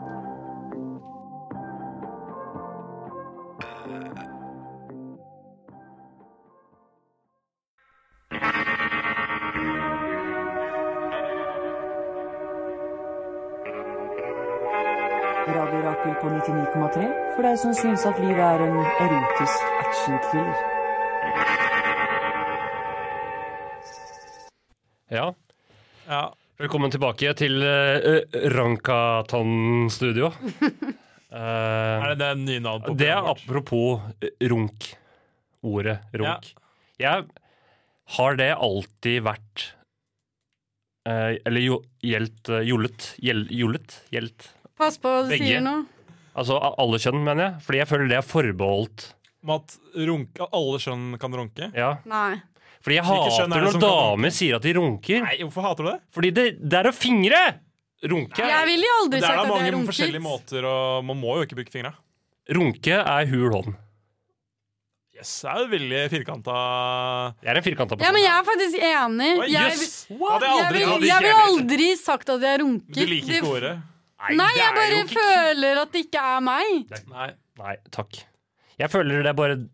Radio Rakel på nittini komma tre for deg som syns at livet er en erotisk action-thriller. Ja. Ja. Velkommen tilbake til uh, Rankatan-studio. Eh, Er det det nye navnet på det er programmet vårt? apropos eh, runk. Ordet runk. Jeg har det alltid vært eh, Eller jo, gjeldt eh, jollet. Gjeld, jollet? Gjeldt. Pass på hva du Begge. sier nå. Altså a- alle kjønn, mener jeg. Fordi jeg føler det er forbeholdt Om at, runke, at alle skjønn kan runke? Ja. Nei. Fordi jeg Hvilke hater skjønn er det når som kan damer sier at de runker. Nei, hvorfor hater du det? Fordi det, det er å fingre! Runke. Jeg ville jo aldri Det er sagt da at jeg mange runket. forskjellige måter, og man må jo ikke bruke fingra. Runke er hul hånd. Yes, det er jo veldig firkanta. Jeg er en firkanta person. Ja, men jeg er faktisk enig. Oi, Jeg, jøss! jeg, Hadde jeg aldri vil, trodd. jeg vil aldri sagt at jeg runker. Du liker ikke Det- ordet? Nei, det jeg er bare jo ikke- føler at det ikke er meg. Nei. Nei, takk. Jeg føler det er bare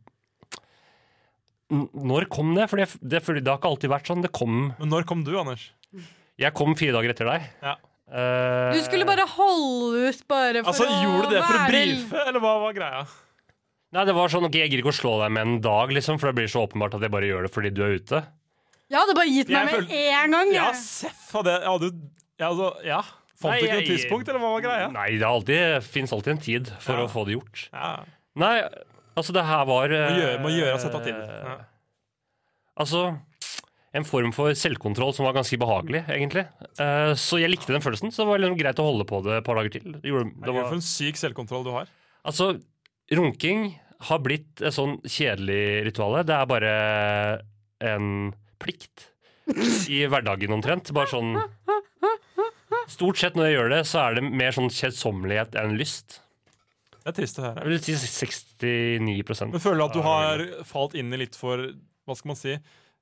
N- Når kom det? For det, det, fordi det har ikke alltid vært sånn. Det kom Men når kom du, Anders? Jeg kom fire dager etter deg. Ja. Eh, Du skulle bare holde ut bare for Altså, å Gjorde du det for å være- brife, eller hva var greia? Nei, det var sånn, ok, jeg gidder ikke å slå deg med en dag, liksom, for det blir så åpenbart at jeg bare gjør det fordi du er ute. Jeg hadde bare gitt meg Jeg med føl- en gang. Ja, jeg. Seff hadde jeg hadde, ja, altså, ja. Fant Nei, du ikke noe jeg- tidspunkt, eller hva var greia? Nei, det, er alltid, finnes alltid en tid for Ja. å få det gjort. Ja. Nei, altså det her var Må gjøre, må gjøre eh, seg ta til. Ja. Altså, en form for selvkontroll som var ganske behagelig, egentlig. Eh, så jeg likte den følelsen, så det var liksom greit å holde på det et par dager til. Det gjorde, det Det var, for en syk selvkontroll du har. altså, runking har blitt et sånn kjedelig rituale. Det er bare en plikt i hverdagen omtrent. Bare sånn Stort sett når jeg gjør det, så er det mer sånn kjedsommelighet enn lyst. Det er trist å høre. Jeg vil si sekstini prosent. Men føler du at du har falt inn i litt for, hva skal man si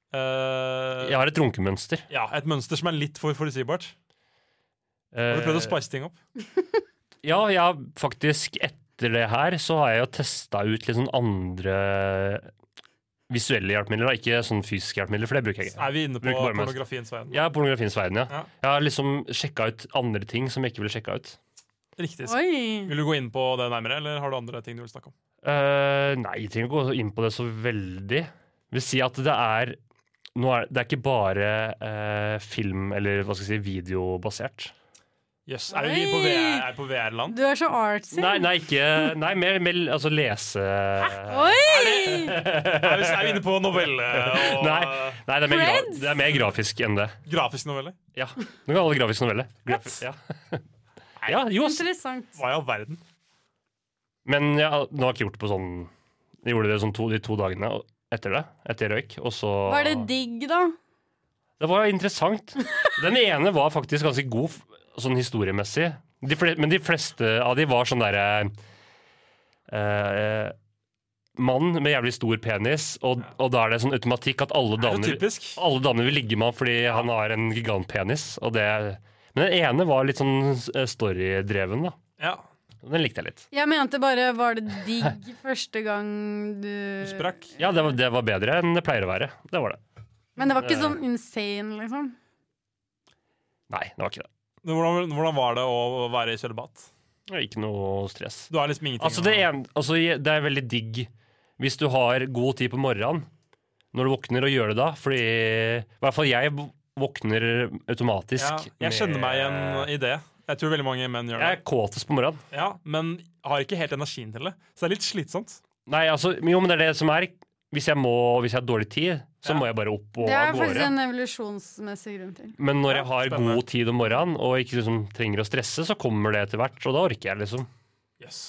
eh, Jeg har et runkemønster. Ja, et mønster som er litt for forutsigbart. Har du prøvd å spice ting opp? Ja, jeg har faktisk etter det her så har jeg jo testa ut litt sånn andre visuelle hjelpemidler, da. Ikke sånn fysiske hjelpemidler, for det bruker jeg ikke. Er vi inne på Bruker bare mest. pornografiens verden? Ja, pornografiens verden, ja. Ja. Jeg har liksom sjekka ut andre ting som jeg ikke ville sjekka ut. Riktig. Oi. Vil du gå inn på det nærmere, eller har du andre ting du vil snakke om? Eh, nei, jeg trenger ikke gå inn på det så veldig. Jeg vil si at det er nå er det er ikke bare eh, film, eller hva skal jeg si, videobasert. Jøss, yes. Er vi på V R, er vi på V R-land? Du er så artsy. Nei, nei, ikke Nei, mer, mer altså lese Oi! Er vi, er vi inne på novelle? Og, Nei, nei det, er mer gra Friends? det er mer grafisk enn det. Grafisk novelle? Ja. Du kan kalle det grafisk novelle. Grafi ja. ja, jo. ass. Interessant. Hva i all verden? Men ja, nå har jeg ikke gjort det på sånn Jeg gjorde det sånn to, de to dagene etter det. Etter jeg røyk. Og så Var det digg, da? Det var interessant. Den ene var faktisk ganske god sånn historiemessig. De fle men de fleste av de var sånn derre eh, mann med jævlig stor penis, og, og da er det sånn automatikk at alle Er det damer, typisk? alle damer vil ligge med ham fordi han har en gigantpenis. Og det, men den ene var litt sånn eh, storydreven, da. Ja. Den likte jeg litt. Jeg mente bare, var det digg første gang du Du sprakk? Ja, det var, det var bedre enn det pleier å være. Det var det. Men det var ikke sånn insane, liksom? Nei, det var ikke det. Hvordan, hvordan var det å være i kjølebad? Det var ikke noe stress. Du har liksom ingenting Altså det, er, altså det er veldig digg hvis du har god tid på morgenen når du våkner og gjør det da. Fordi i hvert fall jeg våkner automatisk. Ja, jeg kjenner meg igjen i det. Jeg tror veldig mange menn gjør det. Jeg er kåtest på morgenen. Ja, men har ikke helt energien til det. Så det er litt slitsomt. Nei, altså, jo, men det er det som er. Hvis jeg, må, hvis jeg har dårlig tid, så Ja. må jeg bare opp og Det er av faktisk gårde. en evolusjonsmessig grunn til. Men når Ja, jeg har spennende. god tid om morgenen og ikke liksom trenger å stresse, så kommer det etter hvert, og da orker jeg liksom. Yes.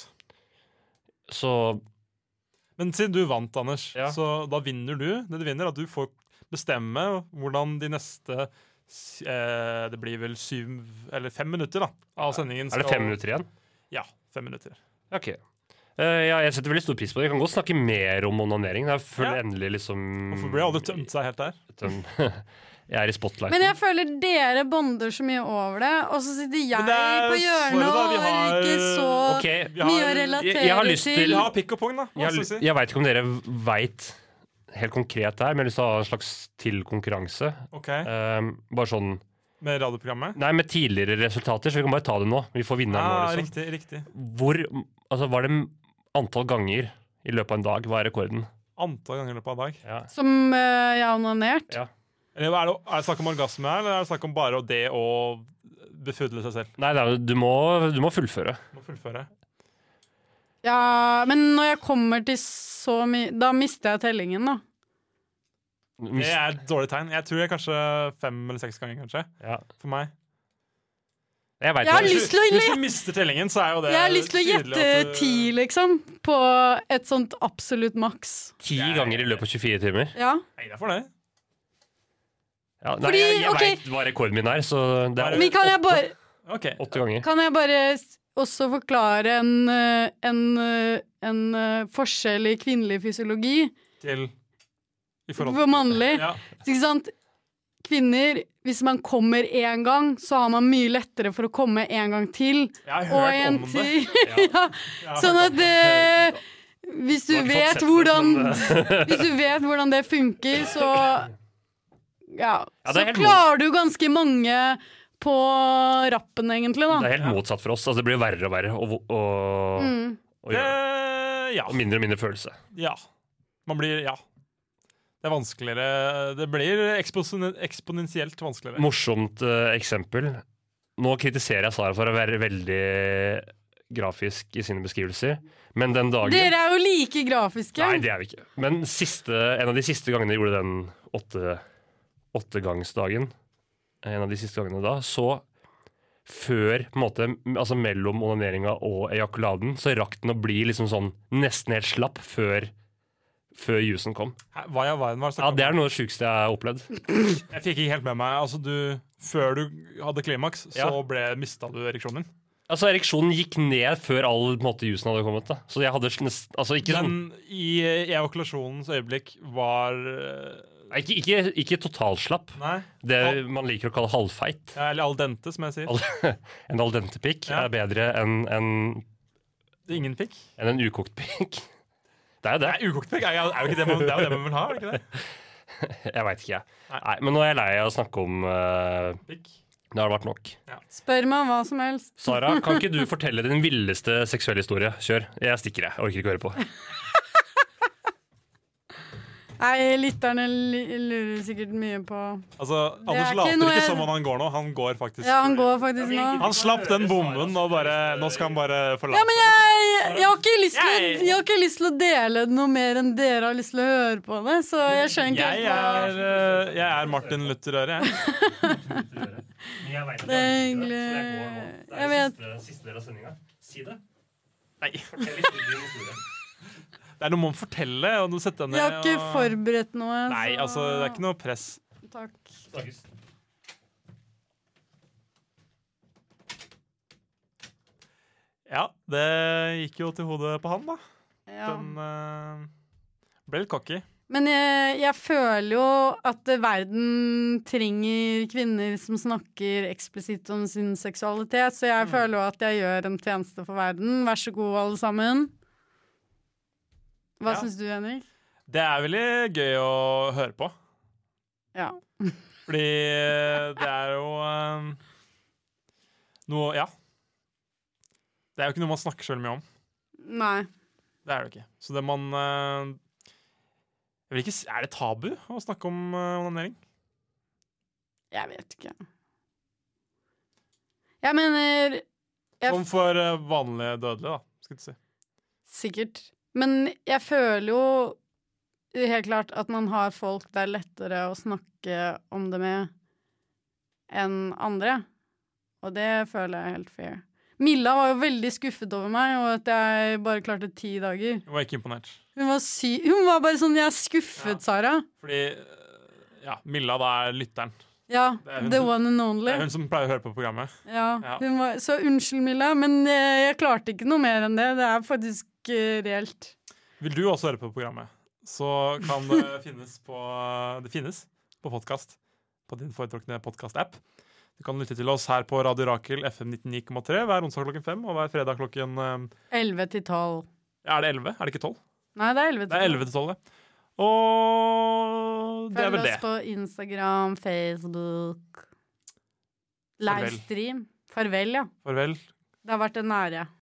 Så Men siden du vant, Anders, Ja. så da vinner du. Det du vinner er at du får bestemme hvordan de neste s- eh, Det blir vel syv eller fem minutter da av sendingen. er det fem minutter igjen? Ja, fem minutter. Ok. Eh, ja, jeg setter veldig stor pris på det. Jeg kan godt snakke mer om onanering. Jeg føler Ja. endelig liksom Hvorfor ble alle tømt seg helt der? Tøm- Jeg er i spotlight. Men jeg føler dere bonder så mye over det, og så sitter jeg Men det er på for hjørnet da, og vi har har- ikke så Ok, vi har- mye å jeg- relatere jeg har lyst til- til. Vi har pikk og pung, da. Hva Jeg, skal vi si? jeg veit ikke om dere veit helt konkret det her, men jeg har lyst til å ha en slags til konkurranse. Ok, Um, bare sånn Med radioprogrammet? Nei, med tidligere resultater, så vi kan bare ta det nå. Vi får vinneren Ah, nå, liksom. riktig, riktig. Hvor Altså, var det antall ganger i løpet av en dag? Hva er rekorden? Antall ganger i løpet av en dag. Ja. Som eh, jeg har onanert. Ja. Eller er det, er det snakk om orgasme her, eller er det snakk om bare det å befudle seg selv? Nei, det er, jo- du, må, du må fullføre. Må fullføre. Ja, men når jeg kommer til så mye Da mister jeg tellingen, da. Det er et dårlig tegn. Jeg tror jeg kanskje fem eller seks ganger, kanskje. Ja. For meg. Jeg, vet Jeg har hva- lyst til å Hvis du mister tellingen, så er jo det Jeg har lyst til å tydelig gjette at du- ti, liksom. På et sånt absolutt maks. Ti ganger i løpet av tjue-fire timer. Ja. Nei, det er for det. Ja, nei, Fordi, jeg jeg ok. vet hva rekorden min er, så det er Men kan jeg bare, Ok. åtte ganger. kan jeg bare s- også forklare en, eh, en, eh, en eh, forskjell i kvinnelig fysiologi Til I forhold for mannlig? Ja. Ikke sant? Kvinner, hvis man kommer én gang, så har man mye lettere for å komme en gang til. Jeg har Og hørt en om det. til. Ja. Ja. Sånn at det, hvis du Du har ikke fått vet sett det, hvordan men- Hvis du vet hvordan det funker, så Ja, Ja, det så er helt klarer du ganske mange på rappen, egentlig, Det da. er helt motsatt for oss. Altså, det blir verre og verre å, å, Mm. å gjøre det. Det, ja. Og mindre og mindre følelse. ja. Man blir Ja. Det er vanskeligere Det blir eksponen- eksponentielt vanskeligere. Morsomt eh, eksempel. Nå kritiserer jeg Sara for å være veldig grafisk i sine beskrivelser, men den dagen Dere er jo like grafiske. Nei, det er vi ikke. Men siste, en av de siste gangene jeg gjorde den åtte, åttegangsdagen, en av de siste gangene da, så før, på en måte, altså mellom onaneringa og ejakuladen, så rakk den å bli liksom sånn nesten helt slapp før, før jusen kom. Hæ, Hva i all verden var det Ja, det er noe av det sjukeste jeg har opplevd. Jeg fikk ikke helt med meg Altså du Før du hadde klimaks, så Ja. ble mista du ereksjonen din. Altså, ereksjonen gikk ned før all på en måte, jusen hadde kommet. Da. Så jeg hadde nest, altså, ikke sånn Men i ejakulasjonens øyeblikk var eh, Nei, Ikke, ikke, ikke totalslapp. Nei. Det man liker å kalle halvfeit. Ja, eller al dente, som jeg sier. Al- en al dente pikk Ja. er bedre enn en, Det er ingen pikk. enn en ukokt pikk. Det er jo det. Nei, ukokt pikk er, jo- er jo ikke det man, det er jo det man vil ha, er det ikke det? Jeg veit ikke, jeg. Nei, men nå er jeg lei av å snakke om uh, Pikk. Det har vært nok. Spør meg om hva som helst. Sara, kan ikke du fortelle din villeste seksuelle historie? Kjør. Jeg stikker, jeg. Jeg orker ikke høre på. Nei, lytterne li- lurer sikkert mye på Altså, Det er Anders ikke later noe ikke jeg- som om han går nå. Han går faktisk. Ja, han går faktisk nå. Han slapp den bomben, og bare, nå skal han bare forlate. Ja, men jeg, jeg, har ikke lyst til å, jeg har ikke lyst til å dele det noe mer enn dere har lyst til å høre på det, så jeg skjønner ikke Jeg helt hva er, eh, jeg er Martin Luther-øre, jeg. Det er hyggelig. Jeg vet. Siste del av sendinga. Si det. Nei. Det er noe man må fortelle, og du setter deg ned. Jeg har ikke og- forberedt noe. Nei, så- altså, det er ikke noe press. Takk. Snakkes. Ja, det gikk jo til hodet på han, da. Ja. Den eh, ble litt cocky. Men jeg, jeg føler jo at verden trenger kvinner som snakker eksplisitt om sin seksualitet, så jeg føler jo at jeg gjør en tjeneste for verden. Vær så god, alle sammen. Hva Ja. syns du, Henrik? Det er veldig gøy å høre på. Ja. Fordi det er jo eh, noe Ja. Det er jo ikke noe man snakker så veldig mye om. Nei. Det er det ikke. Så det man eh, jeg vil ikke, s- Er det tabu å snakke om uh, onanering? Jeg vet ikke. Jeg mener jeg Som for eh, vanlige dødelige, da. Skal du si. Sikkert. Men jeg føler jo helt klart at man har folk det er lettere å snakke om det med enn andre. Og det føler jeg er helt fair. Milla var jo veldig skuffet over meg, og at jeg bare klarte ti dager. Jeg var ikke imponert. Hun var, sy Hun var bare sånn 'Jeg er skuffet, Sara'. Fordi eh, ja, Milla da er lytteren. Ja, Det er hun the som- one and Det only. er hun som pleier å høre på programmet. Ja, Ja. hun var, så unnskyld, Milla, men eh, jeg klarte ikke noe mer enn det. Det er faktisk eh, reelt. Vil du også høre på programmet, så kan det finnes på Det finnes på podkast. På din foretrukne podkast-app. Du kan lytte til oss her på Radio Rakel F M nittioni komma tre hver onsdag klokken fem og hver fredag klokken eh, elleve til tolv. ja, Er det elleve? Er det ikke tolv? Nei, det er elleve Det er elleve til tolv, det. Og det er Følg vel oss det. på Instagram, Facebook. Farvel. Livestream. Farvel, ja. Farvel. Det har vært en ære.